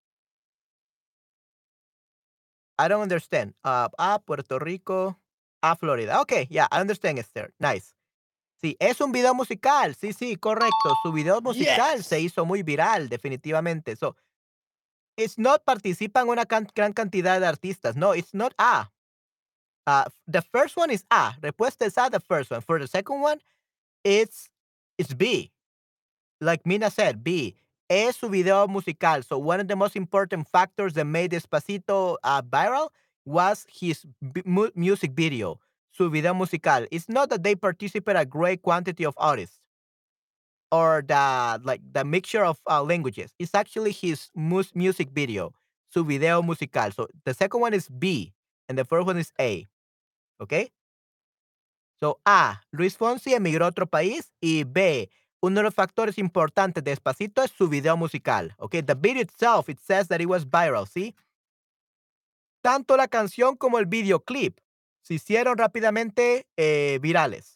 I don't understand. Ah, a Puerto Rico, a Florida. Okay, yeah, I understand, Esther. Nice. Sí, es un video musical. Sí, sí, correcto. Su video musical se Yes. hizo muy viral, definitivamente. So, it's not participan una can gran cantidad de artistas. No, it's not A. Uh, the first one is A. Respuesta es A, the first one. For the second one, it's it's B. Like Mina said, B. Es su video musical. So one of the most important factors that made Despacito uh, viral was his b- mu- music video, su video musical. It's not that they participate a great quantity of artists or the like the mixture of uh, languages. It's actually his mus- music video, su video musical. So the second one is B, and the first one is A. Okay. So A, Luis Fonsi emigró a otro país y B, uno de los factores importantes de Despacito es su video musical. Okay, the video itself, it says that it was viral, ¿sí? Tanto la canción como el videoclip se hicieron rápidamente eh, virales.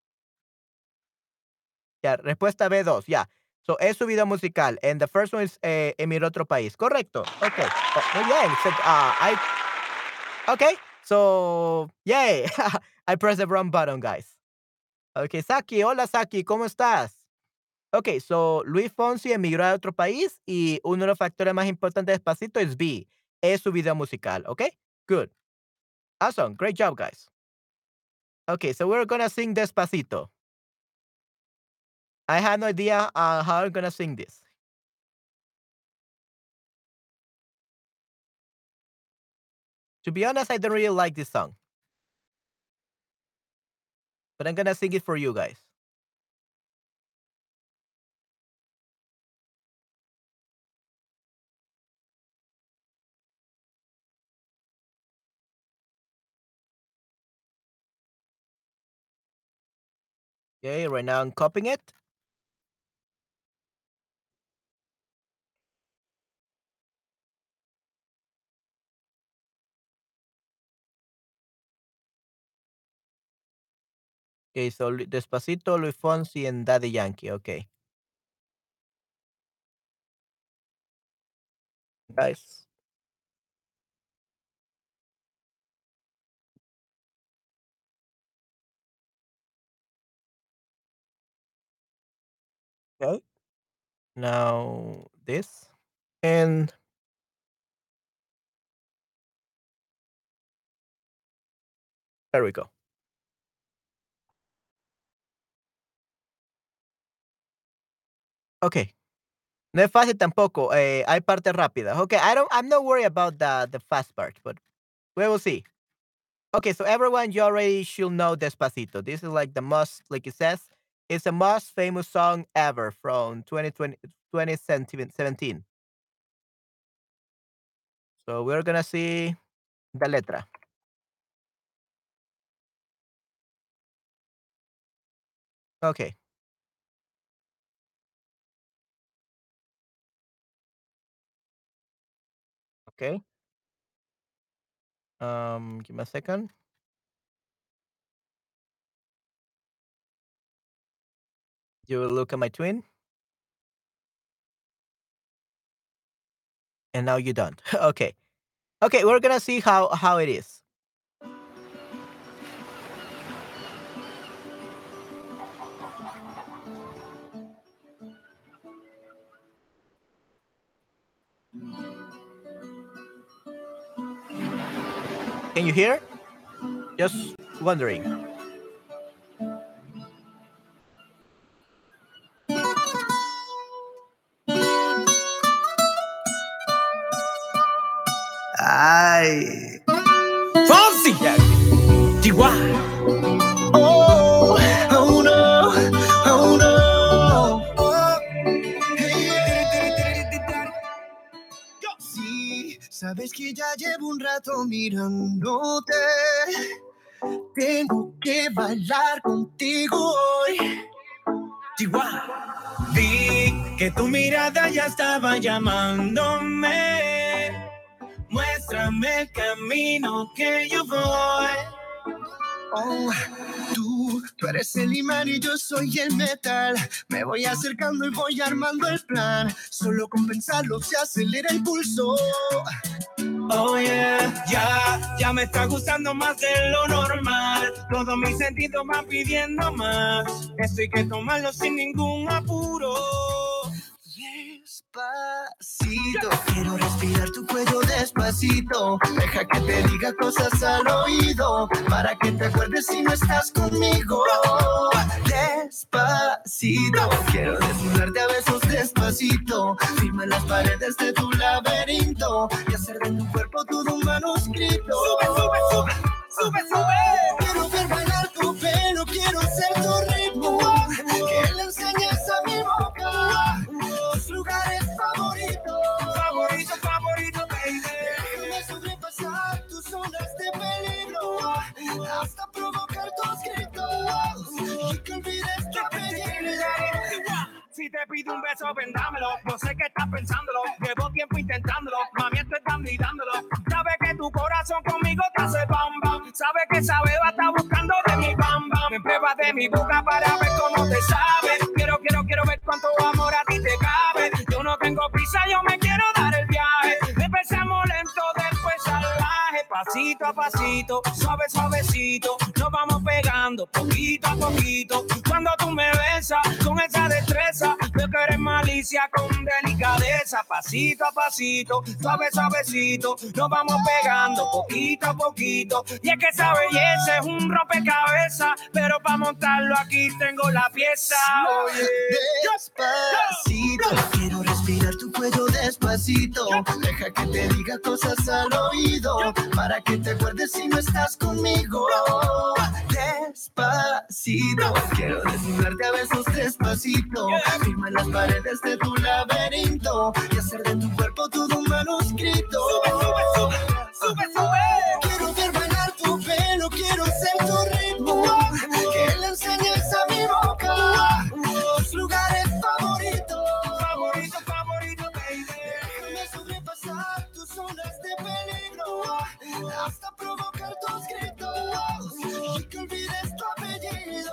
Ya, respuesta B dos, ya. So, es su video musical. And the first one is eh, emigró a otro país. Correcto. Okay. Oh, muy bien. So, uh, I, okay. So, yay. I pressed the wrong button, guys. Okay, Saki. Hola, Saki. ¿Cómo estás? Okay, so Luis Fonsi emigró a otro país y uno de los factores más importantes de Despacito es B, es su video musical, okay? Good. Awesome. Great job, guys. Okay, so we're gonna sing Despacito. I had no idea uh, how I'm gonna sing this. To be honest, I don't really like this song, but I'm gonna sing it for you guys. Okay, right now I'm copying it. Okay, so Lu- Despacito, Luis Fonsi, and Daddy Yankee. Okay, guys. Okay. Now this, and there we go. Okay. No es fácil tampoco, eh, hay partes rápidas. Okay, I don't I'm not worried about the the fast part, but we will see. Okay, so everyone, you already should know Despacito. This is like the most, like it says, it's the most famous song ever from twenty twenty twenty seventeen. So we're gonna see the letra. Okay, okay. Um, give me a second. You will look at my twin, and now you don't. Okay, okay. We're gonna see how how it is. Can you hear? Just wondering. Ay. Fonsi. Yeah. Chihuahua. Es que ya llevo un rato mirándote. Tengo que bailar contigo hoy. Chihuahua. Vi que tu mirada ya estaba llamándome. Muéstrame el camino que yo voy. Oh, tú, tú eres el imán y yo soy el metal. Me voy acercando y voy armando el plan. Solo con pensarlo se acelera el pulso. Oh yeah, ya, ya me está gustando más de lo normal. Todos mis sentidos van pidiendo más. Esto hay que tomarlo sin ningún apuro. Despacito, quiero respirar tu cuello despacito. Deja que te diga cosas al oído, para que te acuerdes si no estás conmigo. Despacito, quiero desnudarte a besos despacito. Firma en las paredes de tu laberinto y hacer de tu cuerpo todo un manuscrito. Sube, sube, sube, sube, sube. Quiero ver bailar tu pelo, quiero ser tu ritmo. Que le enseñes a mi boca tus lugares favoritos. Favorito, favorito, baby. Déjame sobrepasar tus zonas de peligro hasta provocar tus gritos y que olvides tu apellido. Si te pido un beso, vendámelo. No sé qué estás pensándolo. Llevo tiempo intentándolo. Mami, estoy tan gritándolo. Sabe que tu corazón conmigo te hace bam bam. Sabe que esa beba está buscando de mi bam bam. Me pruebas de mi boca para ver cómo te sabe. Quiero, quiero, quiero ver cuánto amor a ti te cabe. Yo no tengo prisa, yo me quiero dar el viaje. Empezamos lento, después salvaje. Pasito a pasito, suave, suavecito. Nos vamos pegando poquito a poquito. Cuando tú me besas con esa destreza, veo que eres malicia con delicadeza. Pasito a pasito, suave, suavecito. Nos vamos pegando poquito a poquito. Y es que esa belleza es un rompecabezas, pero para montarlo aquí tengo la pieza. Oye, despacito, quiero respirar tu cuello despacito. Deja que te diga cosas al oído, para que te acuerdes si no estás conmigo. Despacito, quiero desnudarte a besos despacito. Firma en las paredes de tu laberinto y hacer de tu cuerpo todo un manuscrito. Sube, sube, sube, sube, sube. Quiero ver bailar tu pelo, quiero ser tu ritmo. Que le enseñes a mi boca tus lugares favoritos. Favorito, favorito, baby. Déjame sobrepasar tus zonas de peligro hasta provocar tus gritos y que olvides tu apellido.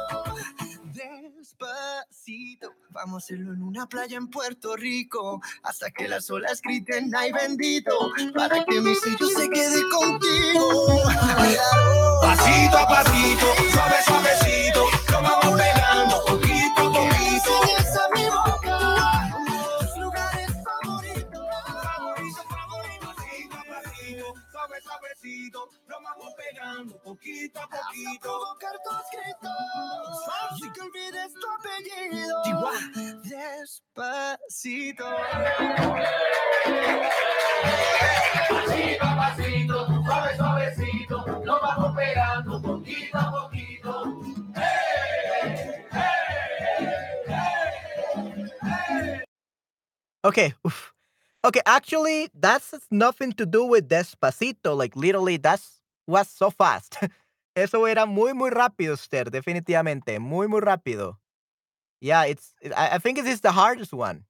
Despacito, vamos a hacerlo en una playa en Puerto Rico hasta que las olas griten ay bendito, para que mi sello se quede contigo. Pasito a pasito, suave suavecito, lo vamos pegando poquito a poquito. Enseñas a mi boca tus lugares favoritos. Favorito, favorito, pasito a pasito, suave suavecito, lo vamos pegando poquito a poquito. Hasta provocar tus gritos y que olvides tu apellido. Despacito. Pasito a pasito, suave suavecito, lo vamos pegando poquito a poquito. Okay. Oof. Okay, actually, that's nothing to do with Despacito. Like, literally, that's was so fast. Eso era muy, muy rápido, Esther. Definitivamente. Muy, muy rápido. Yeah, it's. I, I think this is the hardest one.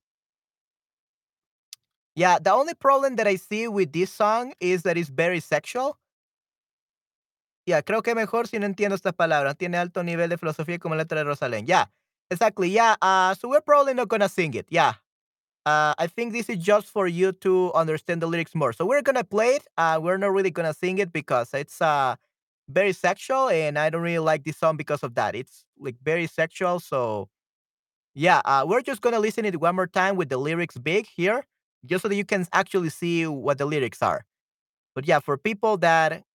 Yeah, the only problem that I see with this song is that it's very sexual. Yeah, creo que mejor si no entiendo estas palabras. Tiene alto nivel de filosofía como la letra de Rosalén. Yeah, exactly. Yeah, uh, so we're probably not gonna sing it. Yeah. Uh, I think this is just for you to understand the lyrics more. So we're gonna play it. Uh, we're not really gonna sing it because it's uh very sexual, and I don't really like this song because of that. It's like very sexual. So yeah, uh, we're just gonna listen it one more time with the lyrics big here, just so that you can actually see what the lyrics are. But yeah, for people that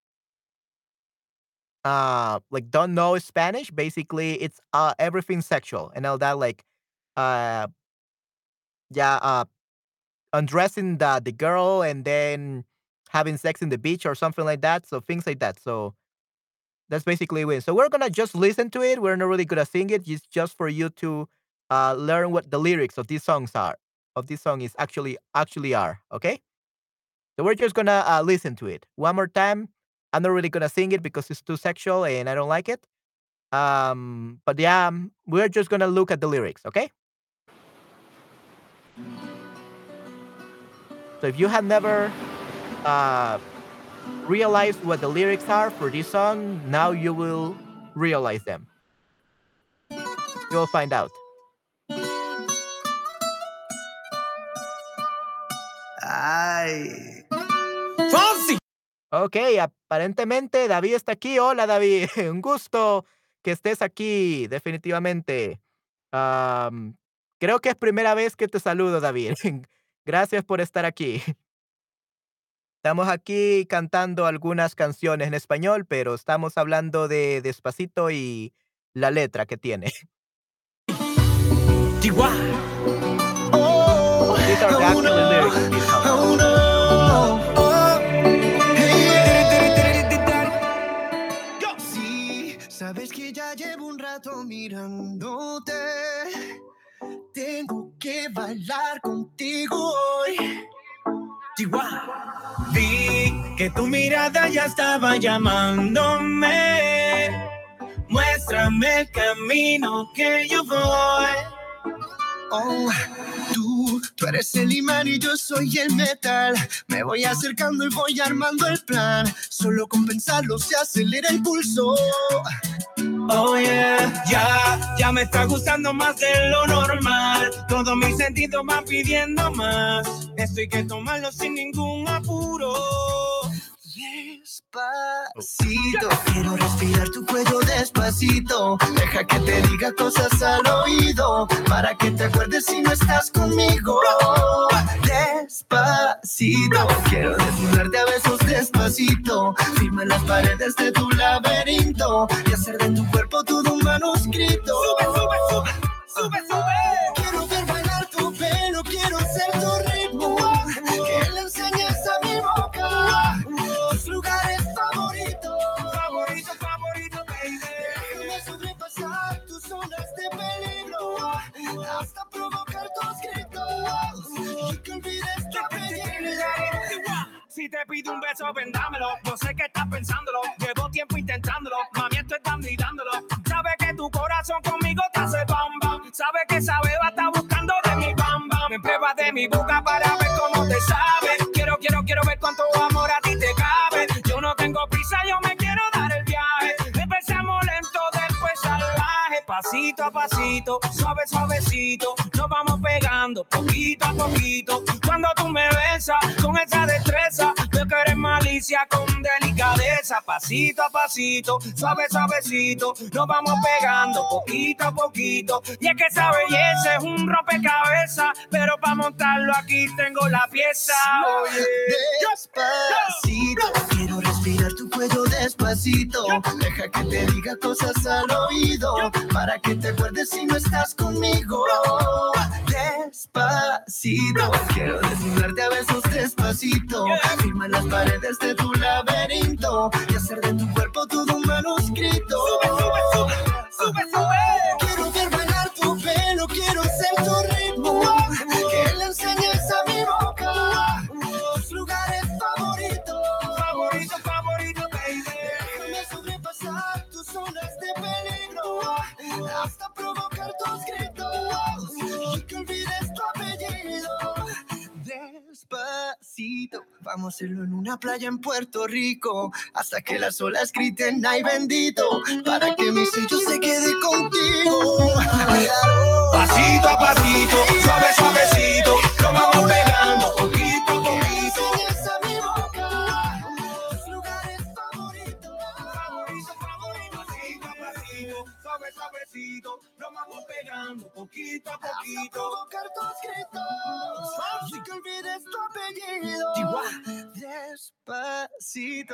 uh like don't know Spanish, basically it's uh everything sexual and all that, like uh yeah, uh undressing the the girl and then having sex in the beach or something like that. So things like that. So that's basically it. So we're gonna just listen to it. We're not really gonna sing it. It's just for you to uh learn what the lyrics of these songs are. Of this song is actually actually are. Okay. So we're just gonna uh, listen to it one more time. I'm not really gonna sing it because it's too sexual and I don't like it. Um, but yeah, um, we're just gonna look at the lyrics, okay? So if you have never uh, realized what the lyrics are for this song, now you will realize them. You'll find out. Ay. Ok, aparentemente David está aquí. Hola, David. Un gusto que estés aquí, definitivamente. Am, creo que es primera vez que te saludo, David. Gracias por estar aquí. Estamos aquí cantando algunas canciones en español, pero estamos hablando de Despacito y la letra que tiene. Oh, These are the oh, actual lyrics of this song. oh, no. Oh, hey, yeah. Sí, sabes que ya llevo un rato mirándote. Tengo que bailar contigo hoy. Vi que tu mirada ya estaba llamándome. Muéstrame el camino que yo voy. Oh, tú, tú eres el imán y yo soy el metal. Me voy acercando y voy armando el plan. Solo con pensarlo se acelera el pulso. Oh yeah, ya, ya me está gustando más de lo normal. Todos mis sentidos van pidiendo más. Esto hay que tomarlo sin ningún apuro. Despacito, quiero respirar tu cuello despacito. Deja que te diga cosas al oído, para que te acuerdes si no estás conmigo. Despacito, quiero desnudarte a besos despacito. Firma en las paredes de tu laberinto y hacer de tu cuerpo todo un manuscrito. Sube, sube, sube, sube, sube. Quiero ver bailar tu pelo, quiero ser tu ritmo. Que le enseñes a mi boca tus lugares favoritos. Favorito, favorito, baby. Déjame sobrepasar tus zonas de peligro hasta provocar tus gritos y que olvides tu apellido. Si te pido un beso, vendámelo. Yo sé que estás pensándolo. Llevo tiempo intentándolo. Mami, estoy dando y dándolo. Sabes que tu corazón conmigo te hace bam bam. Sabes que esa beba está buscando de mi bam bam. Me pruebas de mi boca para ver cómo te sabe. Quiero, quiero, quiero ver cuánto amor a ti te cabe. Yo no tengo prisa, yo me quiero dar el viaje. Empecemos lento, después salvaje. Pasito a pasito, suave, suavecito. Nos vamos pegando poquito a poquito. Cuando tú me besas con esa destreza, veo que eres malicia con delicadeza. Pasito a pasito, suave, suavecito. Nos vamos pegando poquito a poquito. Y es que esa belleza es un rompecabezas, pero para montarlo aquí tengo la pieza. Oye, despacito, quiero respirar tu cuello despacito. Deja que te diga cosas al oído, para que te acuerdes si no estás conmigo. Despacito, quiero desnudarte a besos despacito. Firma en las paredes de tu laberinto y hacer de tu cuerpo todo un manuscrito. Sube, sube, sube, sube, sube. Quiero ver bailar tu pelo, quiero ser tu ritmo. Que le enseñes a mi boca tus lugares favoritos. Favorito, favorito, baby. Déjame sobrepasar tus zonas de peligro hasta provocar tus gritos y que olvides tu apellido. Despacito, vamos a hacerlo en una playa en Puerto Rico hasta que las olas griten ay bendito, para que mi sello se quede contigo. Pasito a pasito, suave, suavecito, lo vamos pegando poquito a poquito. Enseñas a mi boca tus lugares favoritos. Favorito, favorito, pasito a pasito, suave, suavecito, lo vamos pegando poquito a poquito. Hasta provocar tus gritos, así que olvides tu apellido. Despacito.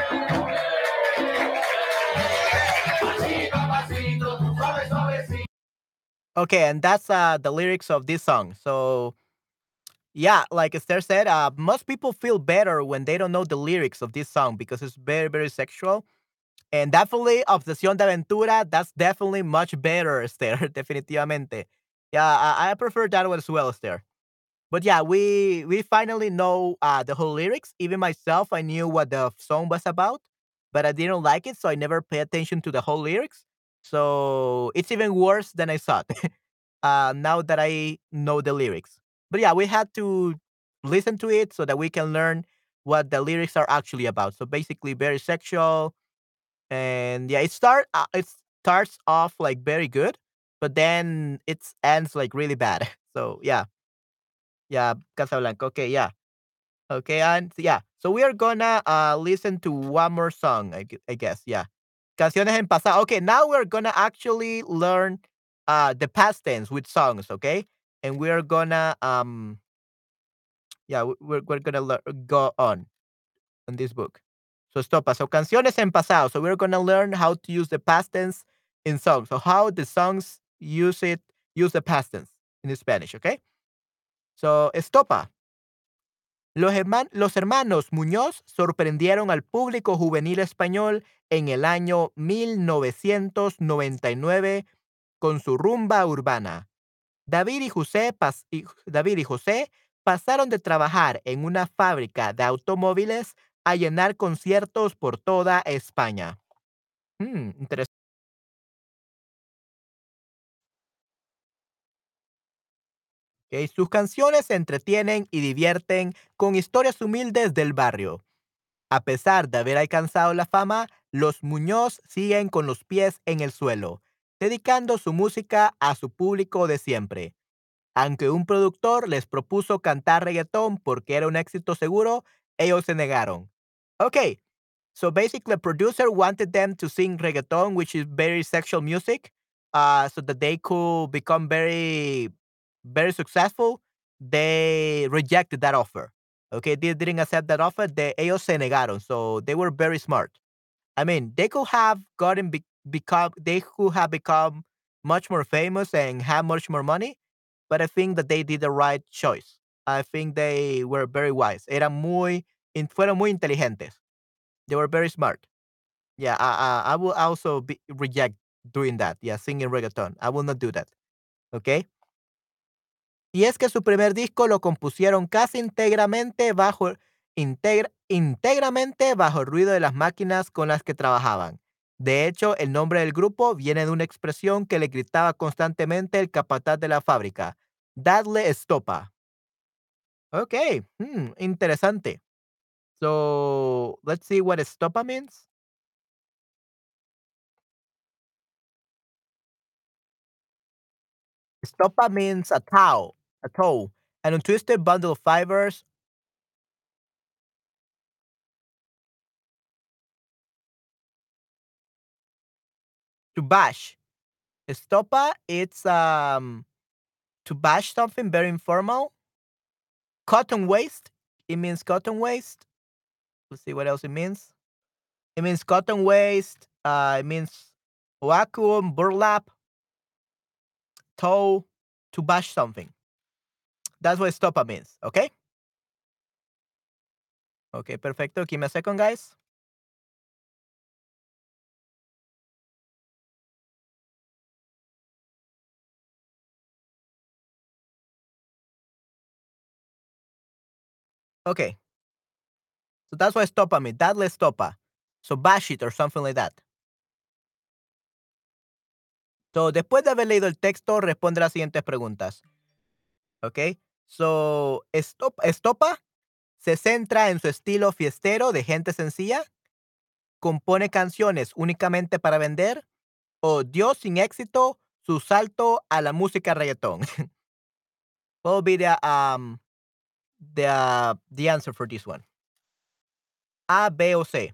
Pasito a pasito, suave, suavecito. Okay, and that's uh, the lyrics of this song. So, yeah, like Esther said, uh, most people feel better when they don't know the lyrics of this song because it's very, very sexual. And definitely, Obsesión de Aventura, that's definitely much better, Esther, definitivamente. Yeah, I, I prefer that one as well, Esther. But yeah, we we finally know uh, the whole lyrics. Even myself, I knew what the song was about, but I didn't like it, so I never pay attention to the whole lyrics. So it's even worse than I thought. uh, now that I know the lyrics, but yeah, we had to listen to it so that we can learn what the lyrics are actually about. So basically, very sexual, and yeah, it start uh, it starts off like very good, but then it ends like really bad. So yeah, yeah, Casablanca. Okay, yeah. Okay, and yeah. So we are gonna uh listen to one more song, I, gu- I guess. Yeah. Canciones en pasado. Okay, now we're gonna actually learn uh the past tense with songs, okay? And we're gonna um yeah, we- we're we're gonna lear- go on on this book. So stopa. So canciones en pasado. So we're gonna learn how to use the past tense in songs. So how the songs use it use the past tense in Spanish, okay? So estopa. Los, herman- los hermanos Muñoz sorprendieron al público juvenil español en el año mil novecientos noventa y nueve con su rumba urbana. David y José, pas- y- David y José pasaron de trabajar en una fábrica de automóviles a llenar conciertos por toda España. Mm, interesante. Sus canciones se entretienen y divierten con historias humildes del barrio. A pesar de haber alcanzado la fama, los Muñoz siguen con los pies en el suelo, dedicando su música a su público de siempre. Aunque un productor les propuso cantar reggaetón porque era un éxito seguro, ellos se negaron. Okay, so basically, a producer wanted them to sing reggaeton, which is very sexual music, uh, so that they could become very, very successful. They rejected that offer. Okay, they didn't accept that offer. They, ellos se negaron. So they were very smart. I mean, they could have gotten be- become, they could have become much more famous and have much more money, but I think that they did the right choice. I think they were very wise. Eran muy, in- fueron muy inteligentes. They were very smart. Yeah, I, I, I will also be, reject doing that. Yeah, singing reggaeton. I will not do that. Okay. Y es que su primer disco lo compusieron casi íntegramente bajo, integra- íntegramente bajo el ruido de las máquinas con las que trabajaban. De hecho, el nombre del grupo viene de una expresión que le gritaba constantemente el capataz de la fábrica. Dadle estopa. Ok, hmm, interesante. So, let's see what estopa means. Estopa means a tow, a tow, an untwisted bundle of fibers to bash. Estopa, it's um to bash something very informal. Cotton waste, it means cotton waste. Let's see what else it means. It means cotton waste. Uh, it means vacuum, burlap, tow, to bash something. That's what estopa means. Okay. Okay, perfecto. Give me a second, guys. Okay. So that's what estopa means. Dadle estopa. So bash it or something like that. So, después de haber leído el texto, responde las siguientes preguntas. ¿Ok? So, Estop- Estopa se centra en su estilo fiestero de gente sencilla, compone canciones únicamente para vender o dio sin éxito su salto a la música reggaetón. What will be the, um, the, uh, the answer for this one? A, B o C.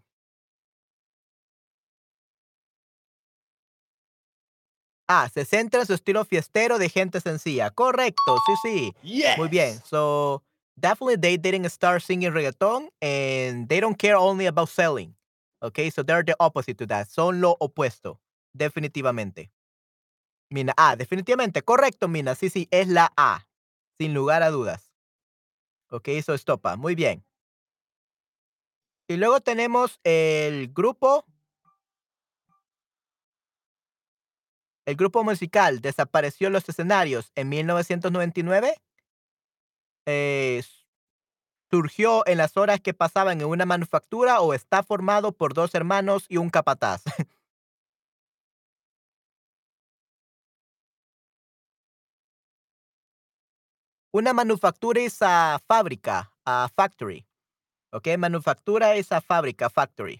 Ah, se centra en su estilo fiestero de gente sencilla. Correcto, sí, sí. Muy bien. Yes. So, definitely they didn't start singing reggaeton and they don't care only about selling. Okay, so they're the opposite to that. Son lo opuesto. Definitivamente. Mina, ah, definitivamente. Correcto, Mina. Sí, sí, es la A. Sin lugar a dudas. Ok, eso estopa. Muy bien. Y luego tenemos el grupo, el grupo musical desapareció en los escenarios en mil novecientos noventa y nueve. Eh, ¿Surgió en las horas que pasaban en una manufactura o está formado por dos hermanos y un capataz? Una manufactura es a fábrica, a factory, ¿ok? Manufactura es a fábrica, factory.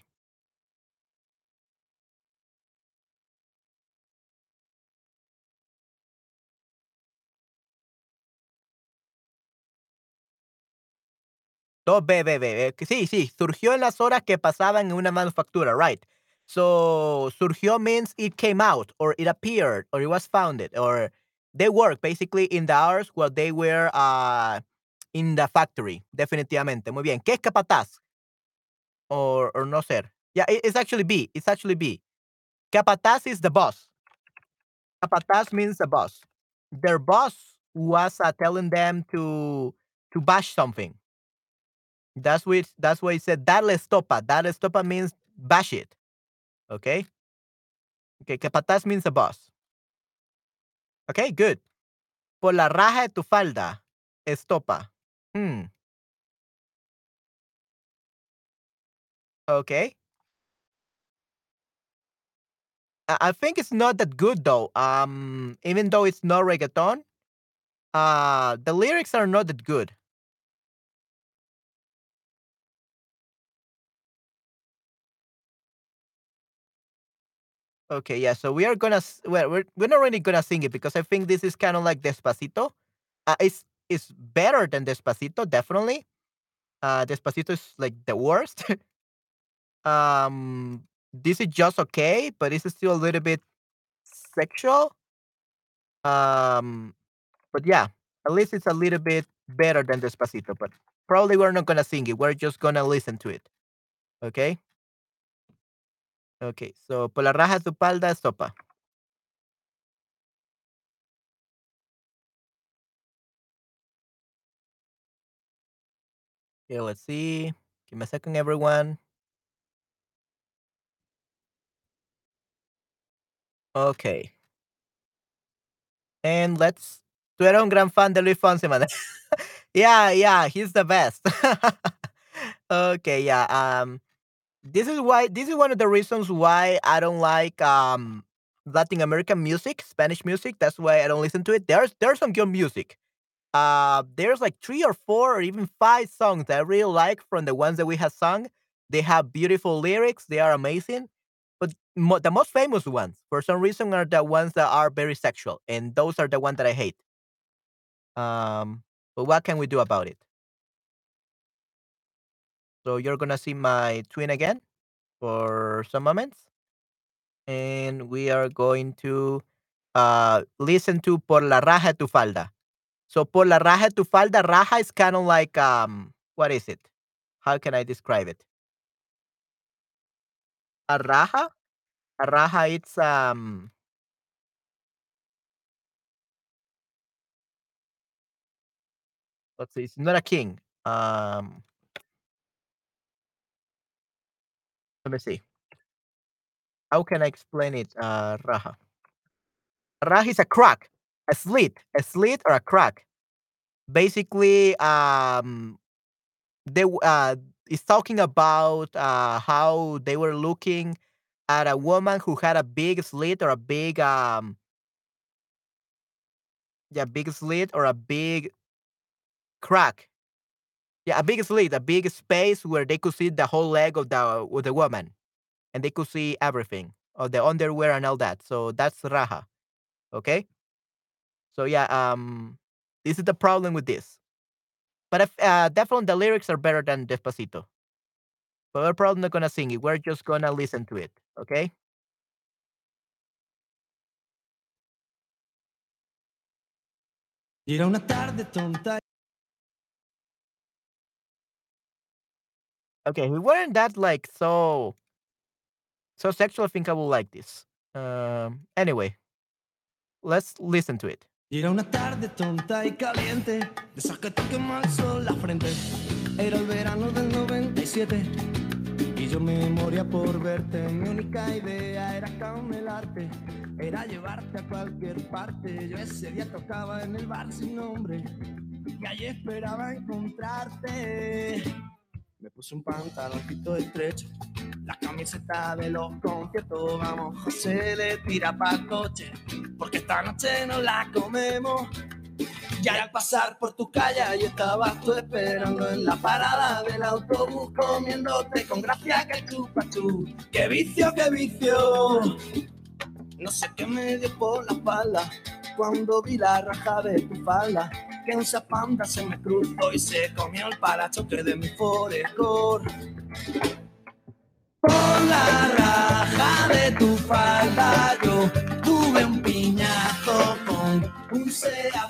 Dos B, B, B, eh, sí, sí, surgió en las horas que pasaban en una manufactura, right. So, surgió means it came out, or it appeared, or it was founded, or they work basically in the hours while they were uh, in the factory, definitivamente. Muy bien. ¿Qué es capataz? Or, or no ser. Yeah, it- it's actually B. It's actually B. Capataz is the boss. Capataz means the boss. Their boss was uh, telling them to to bash something. That's why that's why it said darle estopa. Darle estopa means bash it. Okay. Okay. Capataz means the boss. Okay. Good. Por la raja de tu falda. Estopa. Hmm. Okay. I, I think it's not that good though. Um, even though it's not reggaeton, uh, the lyrics are not that good. Okay, yeah. So we are gonna s- well, we're we're not really gonna sing it because I think this is kind of like Despacito. Uh, it's it's better than Despacito, definitely. Uh, Despacito is like the worst. um, this is just okay, but it's still a little bit sexual. Um, but yeah, at least it's a little bit better than Despacito. But probably we're not gonna sing it. We're just gonna listen to it. Okay. Okay. So por la raja de tu palda, sopa. Okay, let's see. Give me a second, everyone. Okay. And let's tú eres un gran fan de Luis Fonsi, man. Yeah, yeah, he's the best. Okay, yeah, um, this is why this is one of the reasons why I don't like, um, Latin American music, Spanish music. That's why I don't listen to it. There's there's some good music. Uh, there's like three or four or even five songs that I really like from the ones that we have sung. They have beautiful lyrics. They are amazing. But mo- the most famous ones, for some reason, are the ones that are very sexual, and those are the ones that I hate. Um, but what can we do about it? So you're gonna see my twin again for some moments, and we are going to uh listen to Por la raja de tu falda. So por la raja de tu falda, raja is kind of like, um what is it? How can I describe it? A raja? A raja it's um let's see, it's not a king. Um let me see. How can I explain it? Uh raja. Raja is a crack, a slit, a slit or a crack. Basically, um they w- uh is talking about uh how they were looking at a woman who had a big slit or a big um yeah, big slit or a big crack. Yeah, a big slit, a big space where they could see the whole leg of the of the woman, and they could see everything of the underwear and all that. So that's raja. Okay. So yeah, um, this is the problem with this. But if, uh, definitely the lyrics are better than Despacito. But we're probably not gonna sing it. We're just gonna listen to it. Okay. Y era una tarde tonta. Okay. We weren't that like so so sexual. I think I will like this. Um. Anyway, let's listen to it. Y era una tarde tonta y caliente, de esas que te quema el sol la frente. Era el verano del noventa y siete y yo me moría por verte. Mi única idea era camelarte, era llevarte a cualquier parte. Yo ese día tocaba en el bar sin nombre, que allí esperaba encontrarte. Me puse un pantaloncito estrecho, la camiseta de los conciertos. Vamos, José, le tira pa' coche, porque esta noche nos la comemos. Y al pasar por tu calle, ahí estabas tú esperando en la parada del autobús, comiéndote con gracia que el chupachú. ¡Qué vicio, qué vicio! No sé qué me dio por la espalda cuando vi la raja de tu falda, que un zapanda se me cruzó y se comió el parachoque de mi forescore. Por la raja de tu falda yo tuve un piñazo con un Seat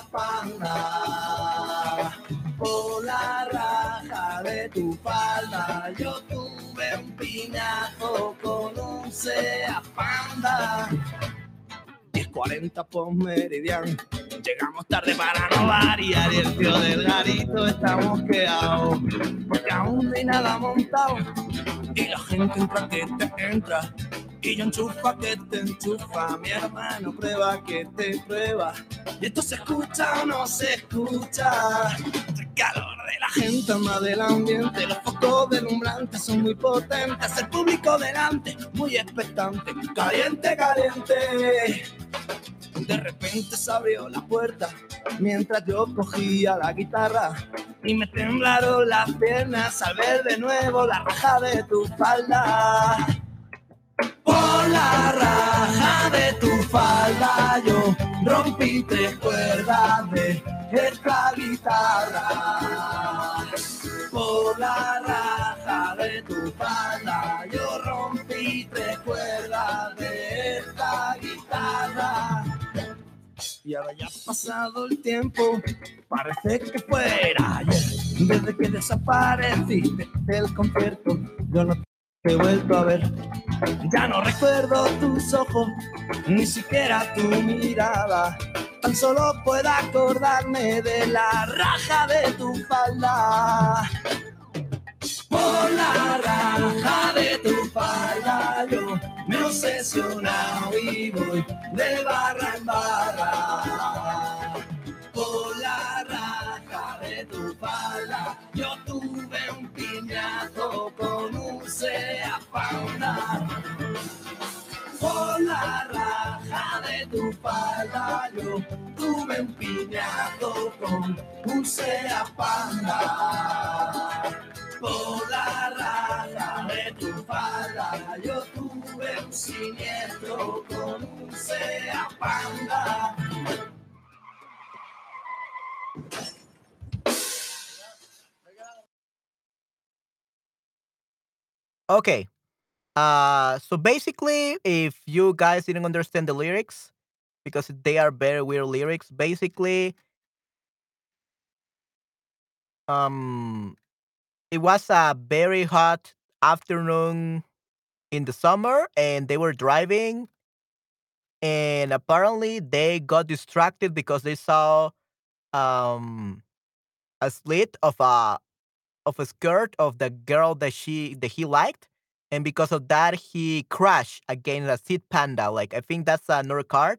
Panda. Por la raja de tu falda yo tuve un piñazo con un Seat Panda. diez cuarenta por meridiano, llegamos tarde para no variar y el tío del garito está mosqueado, porque aún no hay nada montado y la gente entra que te entra y yo enchufa que te enchufa, mi hermano prueba que te prueba y esto se escucha o no se escucha. El calor de la gente más del ambiente, los focos deslumbrantes son muy potentes, el público delante muy expectante, caliente, caliente. De repente se abrió la puerta mientras yo cogía la guitarra y me temblaron las piernas al ver de nuevo la raja de tu falda. Por la raja de tu falda yo rompí tres cuerdas de esta guitarra. Por la raja de tu falda yo rompí tres cuerdas de esta guitarra. Y ahora ya ha pasado el tiempo, parece que fuera ayer, desde que desapareciste del concierto, yo no te he vuelto a ver. Ya no recuerdo tus ojos, ni siquiera tu mirada, tan solo puedo acordarme de la raja de tu falda. Por la raja de tu falda yo me he obsesionado y voy de barra en barra. Por la raja de tu falda yo tuve un piñazo con un Seat Panda. Por la raja de tu falda yo tuve un piñazo con un Seat Panda. Por la raja de tu falda yo tuve un siniestro con un Seat Panda. Okay. Uh, so basically, if you guys didn't understand the lyrics, because they are very weird lyrics, basically, um, it was a very hot afternoon in the summer, and they were driving, and apparently they got distracted because they saw um a slit of a of a skirt of the girl that she that he liked, and because of that he crashed against a seat panda. Like I think that's another card.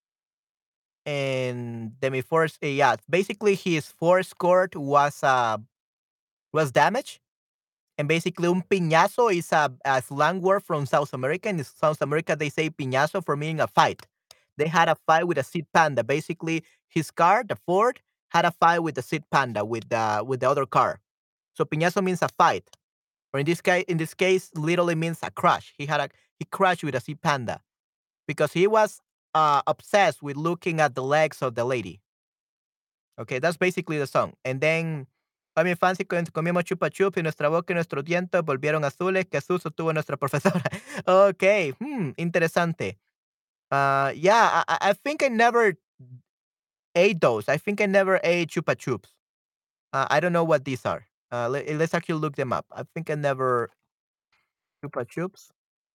And then before, uh, yeah, basically his fourth skirt was uh was damaged. And basically, un piñazo is a, a slang word from South America. In South America, they say piñazo for meaning a fight. They had a fight with a seat panda. Basically, his car, the Ford, had a fight with the seat panda with the with the other car. So piñazo means a fight, or in this case, in this case, literally means a crash. He had a he crashed with a sea panda because he was uh, obsessed with looking at the legs of the lady. Okay, that's basically the song. And then a mi infancia cuando comíamos chupa chup y nuestra boca y nuestros dientes volvieron azules. Qué susto tuvo nuestra profesora. Okay, hmm, interesante. Uh, yeah, I, I I think I never ate those. I think I never ate chupa chups. Uh, I don't know what these are. Uh, let, let's actually look them up. I think I never chupa chups.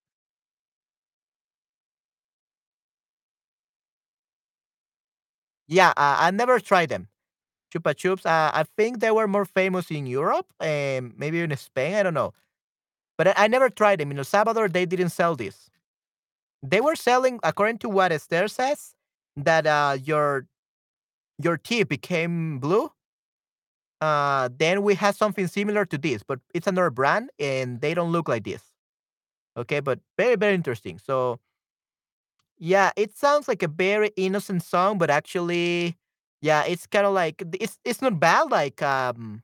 Yeah, uh, I never tried them. Chupa chups. Uh, I think they were more famous in Europe and maybe in Spain. I don't know, but I, I never tried them. In El Salvador, they didn't sell this. They were selling, according to what Esther says, that uh, your your teeth became blue Uh, then we have something similar to this, but it's another brand and they don't look like this. Okay, but very, very interesting. So yeah, it sounds like a very innocent song, but actually, yeah, it's kind of like it's it's not bad like um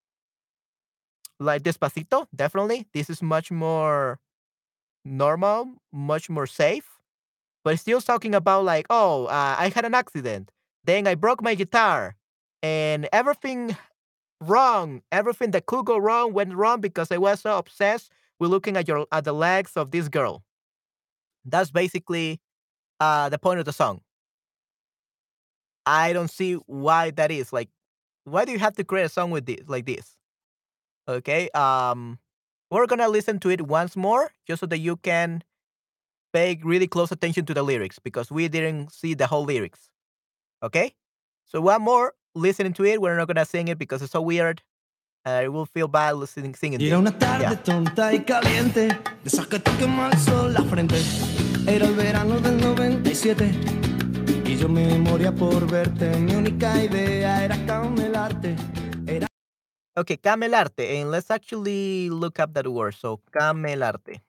like Despacito, definitely. This is much more normal, much more safe, but it's still talking about like, oh, uh, I had an accident, then I broke my guitar, and everything wrong, everything that could go wrong went wrong because I was so obsessed with looking at your at the legs of this girl. That's basically uh the point of the song. I don't see why that is. Like, why do you have to create a song with this like this? Okay. Um we're gonna listen to it once more just so that you can pay really close attention to the lyrics because we didn't see the whole lyrics. Okay? So one more listening to it. We're not gonna sing it because it's so weird. I will feel bad listening singing Era this. una tarde Yeah. tonta y caliente, de esas que te quema el sol la frente. Era el verano del noventa y siete y yo me moría por verte. Mi única idea era camelarte. Era Okay, camelarte. And let's actually look up that word. So camelarte.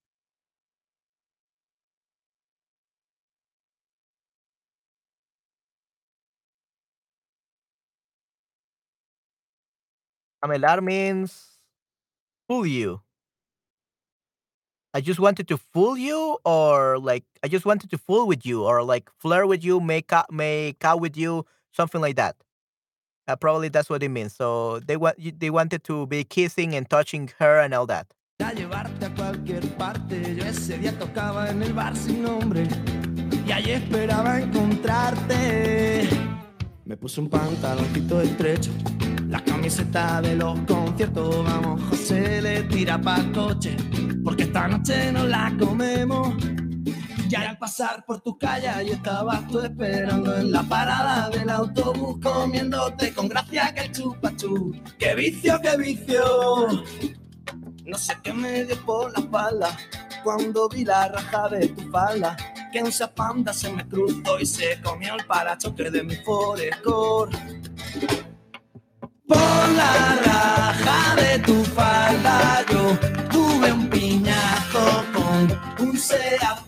Camelar means fool you. I just wanted to fool you, or like I just wanted to fool with you, or like flirt with you, make out, make out with you, something like that. Uh, probably that's what it means. So they want you- they wanted to be kissing and touching her and all that. llevarte a cualquier parte. Yo ese día tocaba en el bar sin nombre y allí esperaba encontrarte. Me puse un pantaloncito estrecho, la camiseta de los conciertos. Vamos, José le tira pa' coche, porque esta noche nos la comemos. Y al pasar por tu calle, ahí estabas tú esperando en la parada del autobús, comiéndote con gracia que el chupachú. ¡Qué vicio, qué vicio! No sé qué me dio por la espalda cuando vi la raja de tu falda, que un zapanda se me cruzó y se comió el parachoque de mi Forescore. Por la raja de tu falda yo tuve un piñazo con un Seat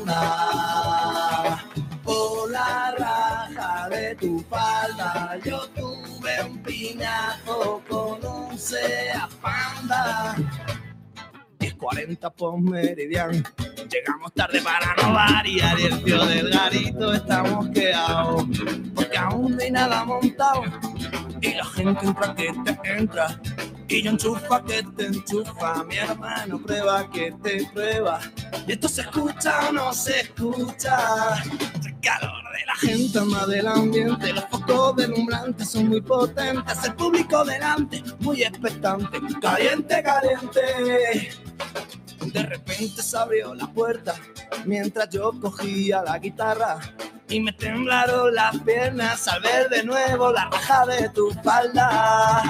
Panda. Por la raja de tu falda yo tuve un piñazo con un Seat Panda. diez cuarenta por meridiano, llegamos tarde para no variar y el tío del garito está mosqueado porque aún no hay nada montado y la gente entra que te entra y yo enchufa que te enchufa, mi hermano prueba que te prueba y esto se escucha o no se escucha. El calor de la gente más del ambiente, los focos deslumbrantes son muy potentes, el público delante muy expectante, caliente, caliente. De repente se abrió la puerta mientras yo cogía la guitarra y me temblaron las piernas al ver de nuevo la raja de tu falda.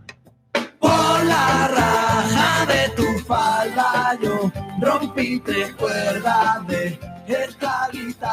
Por la raja de tu falda yo rompí tres cuerdas de esta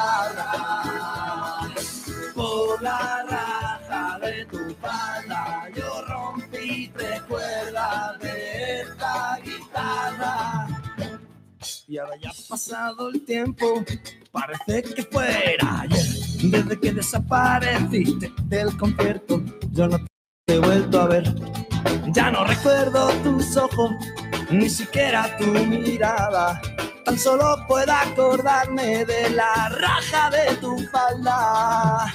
guitarra. Por la raja de tu falda yo rompí tres cuerdas de esta guitarra. Y ahora ya ha pasado el tiempo, parece que fuera ayer. Desde que desapareciste del concierto, yo no te he vuelto a ver. Ya no recuerdo tus ojos, ni siquiera tu mirada. Tan solo puedo acordarme de la raja de tu falda.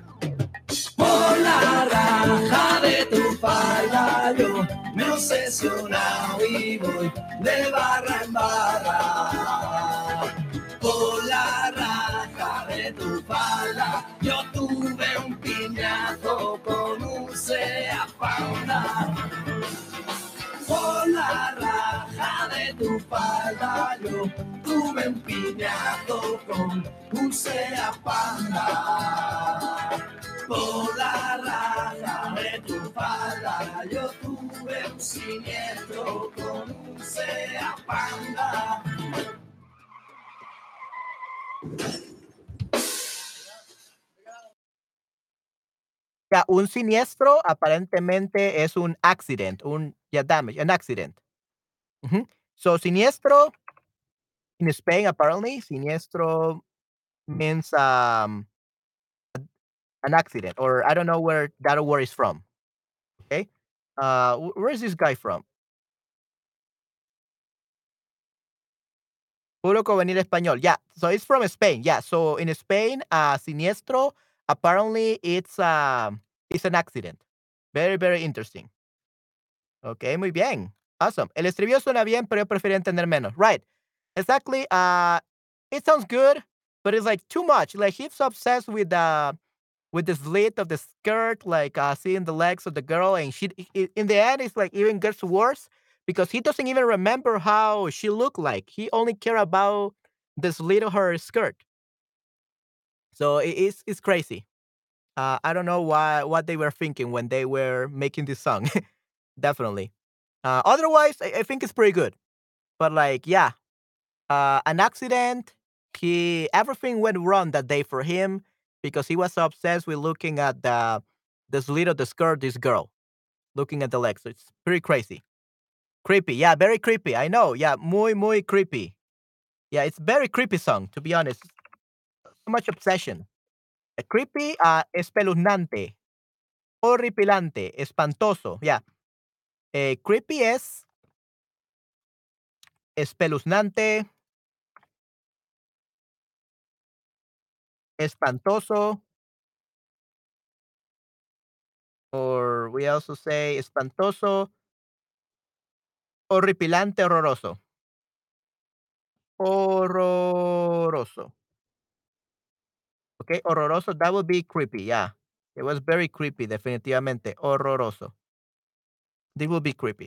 Por la raja de tu falda yo me he obsesionado y voy de barra en barra. Por la raja de tu falda yo tuve un piñazo con un Seat Panda. Por la raja de tu falda yo tuve un piñazo con un Seat Panda. Por la raja de tu falda yo tuve un siniestro con un Seat Panda. Ya, un siniestro aparentemente es un accident, un yeah, damage, an accident. Mhm. So siniestro in Spain apparently siniestro means um an accident, or I don't know where that word is from. Okay, uh, wh- where is this guy from? Puro venir español. Yeah, so it's from Spain. Yeah, so in Spain, uh, siniestro apparently it's um it's an accident. Very very interesting. Okay, muy bien. Awesome. El estribillo suena bien, pero yo prefiero entender menos. Right. Exactly. Uh, it sounds good, but it's like too much. Like he's obsessed with the with the slit of the skirt, like uh, seeing the legs of the girl, and she. i- In the end, it's like even gets worse because he doesn't even remember how she looked like. He only care about the slit of her skirt. So it, it's it's crazy. Uh, I don't know why what they were thinking when they were making this song. Definitely. Uh, otherwise, I, I think it's pretty good. But like, yeah, uh, an accident. He everything went wrong that day for him because he was so obsessed with looking at the the slit of the skirt. This girl looking at the legs. So it's pretty crazy, creepy. Yeah, very creepy. I know. Yeah, muy muy creepy. Yeah, it's very creepy song to be honest. So much obsession. Uh, creepy, uh, espeluznante, horripilante, espantoso. Yeah, eh, creepy es espeluznante, espantoso, or we also say espantoso, horripilante, horroroso. Horroroso. Okay, horroroso, that would be creepy, yeah. It was very creepy, definitivamente. Horroroso. This would be creepy.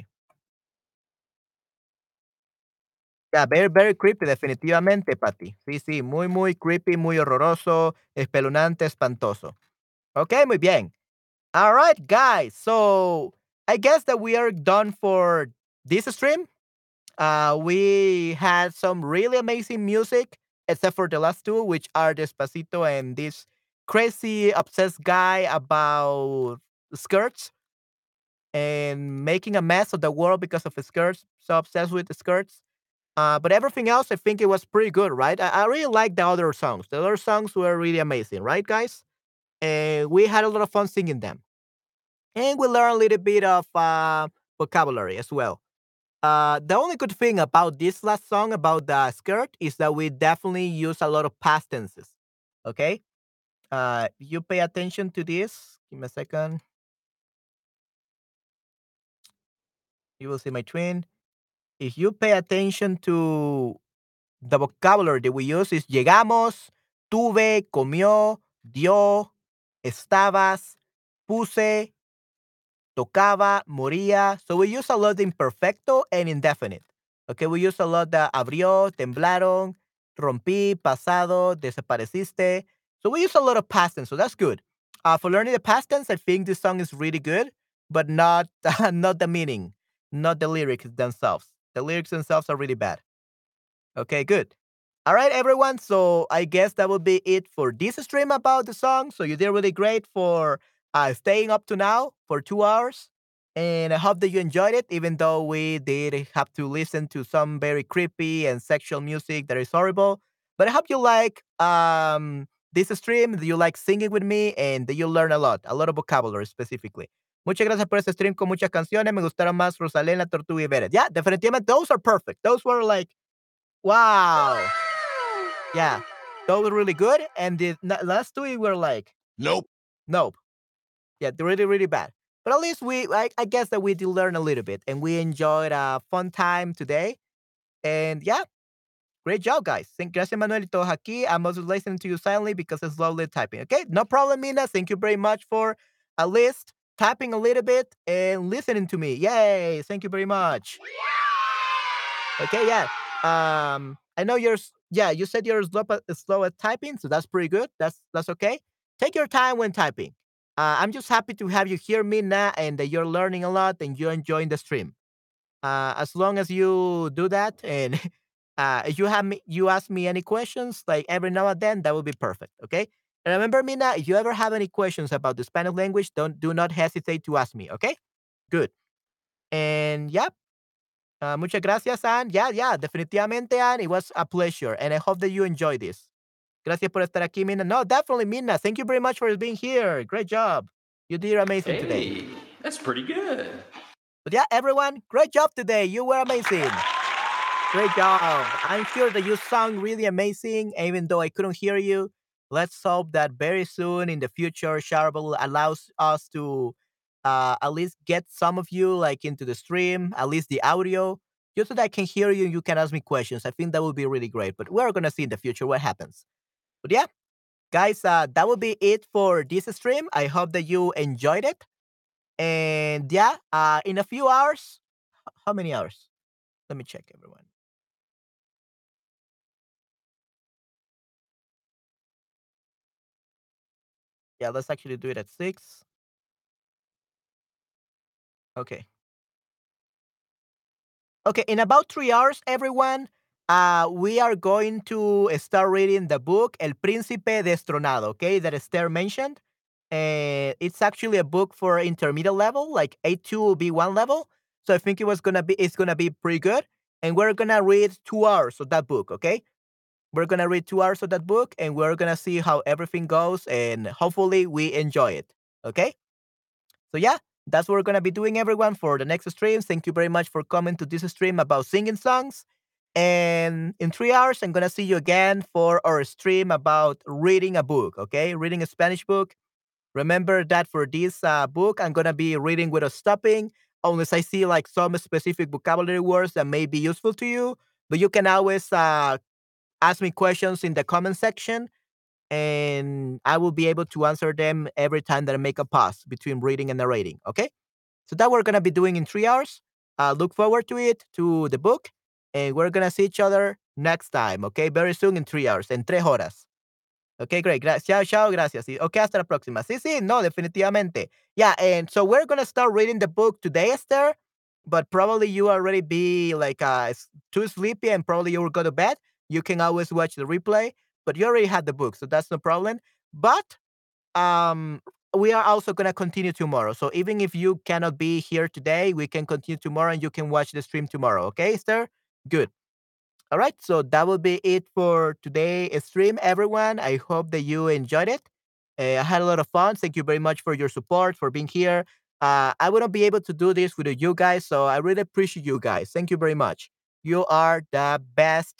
Yeah, very, very creepy, definitivamente, Patty. Sí, sí, muy, muy creepy, muy horroroso, espeluznante, espantoso. Okay, muy bien. All right, guys. So I guess that we are done for this stream. Uh, we had some really amazing music, except for the last two, which are Despacito and this crazy obsessed guy about skirts and making a mess of the world because of his skirts. So obsessed with the skirts. Uh, but everything else, I think it was pretty good, right? I, I really like the other songs. The other songs were really amazing, right, guys? And we had a lot of fun singing them. And we learned a little bit of uh, vocabulary as well. Uh, the only good thing about this last song about the skirt is that we definitely use a lot of past tenses. Okay. Uh, you pay attention to this. Give me a second. You will see my twin. If you pay attention to the vocabulary that we use, is llegamos, tuve, comió, dio, estabas, puse, tocaba, moría. So we use a lot the imperfecto and indefinite. Okay, we use a lot the abrió, temblaron, rompí, pasado, desapareciste. So we use a lot of past tense. So that's good. Uh, for learning the past tense, I think this song is really good, but not not the meaning, not the lyrics themselves. The lyrics themselves are really bad. Okay, good. All right, everyone. So I guess that will be it for this stream about the song. So you did really great for uh, staying up to now for two hours. And I hope that you enjoyed it, even though we did have to listen to some very creepy and sexual music that is horrible. But I hope you like um, this stream, that you like singing with me, and that you learn a lot, a lot of vocabulary specifically. Muchas gracias por este stream con muchas canciones. Me gustaron más Rosalena, Tortuga y Beret. Yeah, definitivamente, those are perfect. Those were like, wow. Yeah, those were really good. And the n- last two were like, Nope. nope. Yeah, they're really, really bad. But at least we, I, I guess that we did learn a little bit and we enjoyed a fun time today. And yeah, great job, guys. Thank Gracias, Manuelito aquí. I'm also listening to you silently because it's slowly typing. Okay, no problem, Mina. Thank you very much for at least typing a little bit and listening to me. Yay! Thank you very much. Okay, yeah. Um, I know you're. s- Yeah, you said you're slow, at- slow at typing, so that's pretty good. That's that's okay. Take your time when typing. Uh, I'm just happy to have you hear me now, and that you're learning a lot and you're enjoying the stream. Uh, as long as you do that, and uh, if you have me, you ask me any questions like every now and then, that would be perfect. Okay. And remember, Mina, if you ever have any questions about the Spanish language, don't do not hesitate to ask me, okay? Good. And yeah, uh, muchas gracias, Anne. Yeah, yeah, definitivamente, Anne. It was a pleasure, and I hope that you enjoy this. Gracias por estar aquí, Mina. No, definitely, Mina. Thank you very much for being here. Great job. You did amazing today. Hey, that's pretty good. But yeah, everyone, great job today. You were amazing. Great job. I'm sure that you sound really amazing, even though I couldn't hear you. Let's hope that very soon in the future, Sharable allows us to uh, at least get some of you like into the stream, at least the audio, just so that I can hear you and you can ask me questions. I think that would be really great. But we're gonna see in the future what happens. But yeah, guys, uh, that will be it for this stream. I hope that you enjoyed it. And yeah, uh, in a few hours, h- how many hours? Let me check, everyone. Yeah, let's actually do it at six. Okay. Okay, in about three hours, everyone, uh, we are going to start reading the book El Príncipe Destronado, okay, that Esther mentioned. Uh, it's actually a book for intermediate level, like A two B one level. So I think it was gonna be it's gonna be pretty good. And we're gonna read two hours of that book, okay? We're gonna read two hours of that book and we're gonna see how everything goes and hopefully we enjoy it. Okay? So yeah, that's what we're gonna be doing, everyone, for the next stream. Thank you very much for coming to this stream about singing songs. And in three hours, I'm gonna see you again for our stream about reading a book. Okay, reading a Spanish book. Remember that for this uh, book, I'm gonna be reading without stopping, unless I see like some specific vocabulary words that may be useful to you. But you can always uh, ask me questions in the comment section and I will be able to answer them every time that I make a pause between reading and narrating. Okay. So that we're gonna be doing in three hours. Uh, look forward to it, to the book, and we're gonna see each other next time. Okay, very soon in three hours, en tres horas. Okay, great. Gracias. Chao, chao, gracias. Sí. Okay, hasta la próxima. Sí, sí, no, definitivamente. Yeah, and so we're gonna start reading the book today, Esther. But probably you already be like uh s- too sleepy, and probably you will go to bed. You can always watch the replay, but you already had the book, so that's no problem. But um we are also going to continue tomorrow, so even if you cannot be here today, we can continue tomorrow and you can watch the stream tomorrow. Okay, Esther? Good. All right, so that will be it for today's stream, everyone. I hope that you enjoyed it. Uh, I had a lot of fun. Thank you very much for your support, for being here. uh, I wouldn't be able to do this without you guys, so I really appreciate you guys. Thank you very much. You are the best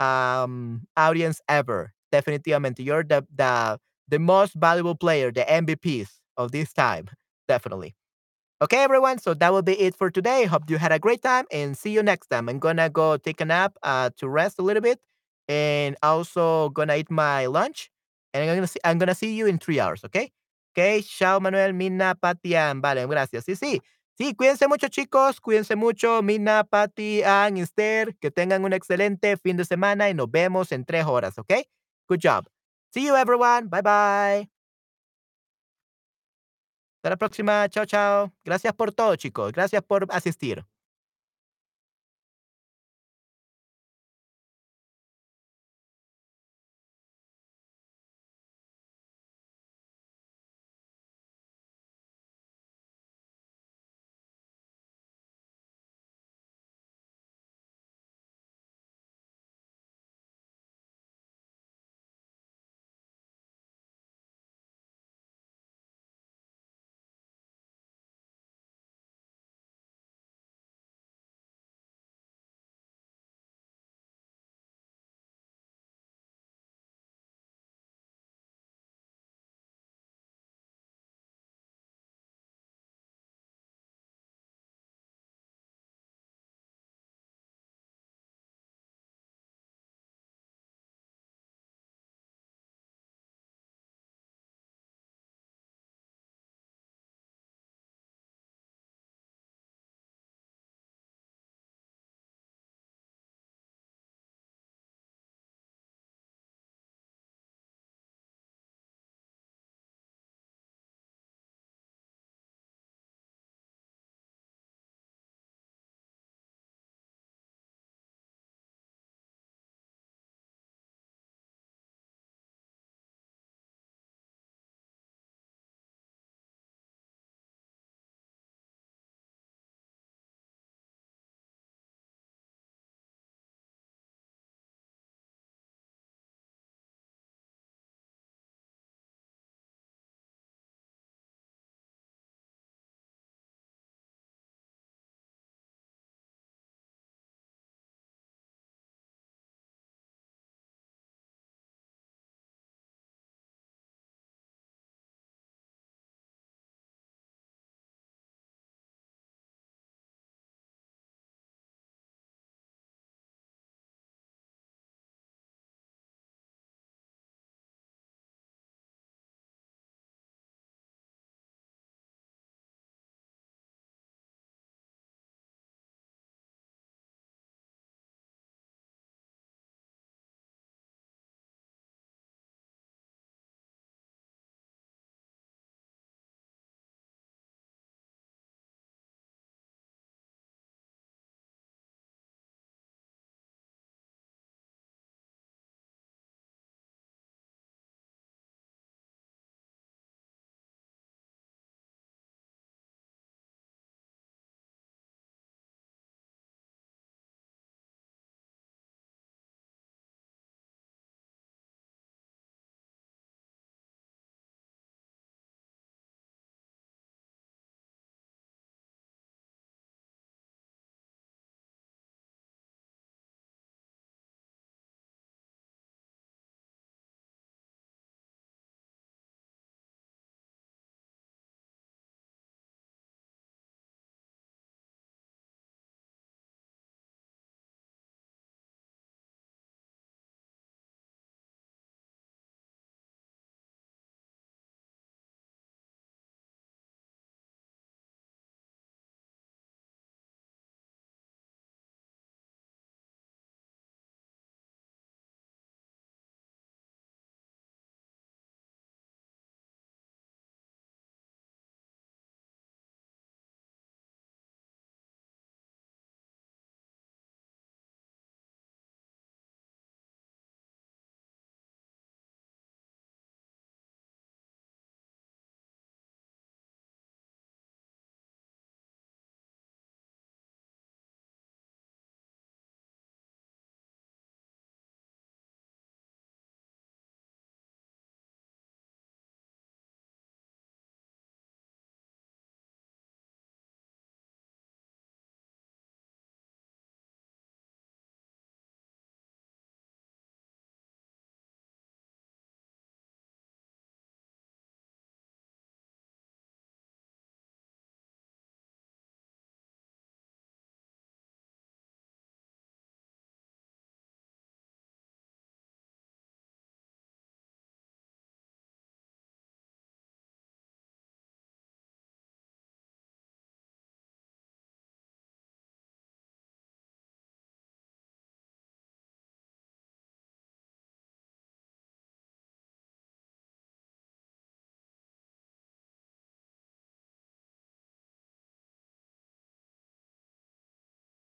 um audience ever. Definitivamente, you're the the the most valuable player, the M V Ps of this time. Definitely. Okay, everyone. So that will be it for today. Hope you had a great time and see you next time. I'm gonna go take a nap uh, to rest a little bit, and also gonna eat my lunch. And I'm gonna see, I'm gonna see you in three hours. Okay. Okay. Chao, Manuel, Mina, Pati, Ann. Vale, gracias. Sí, sí. Sí, cuídense mucho, chicos. Cuídense mucho, Mina, Pati, Ann, Esther. Que tengan un excelente fin de semana y nos vemos en tres horas. Okay. Good job. See you, everyone. Bye bye. Hasta la próxima. Chao, chao. Gracias por todo, chicos. Gracias por asistir.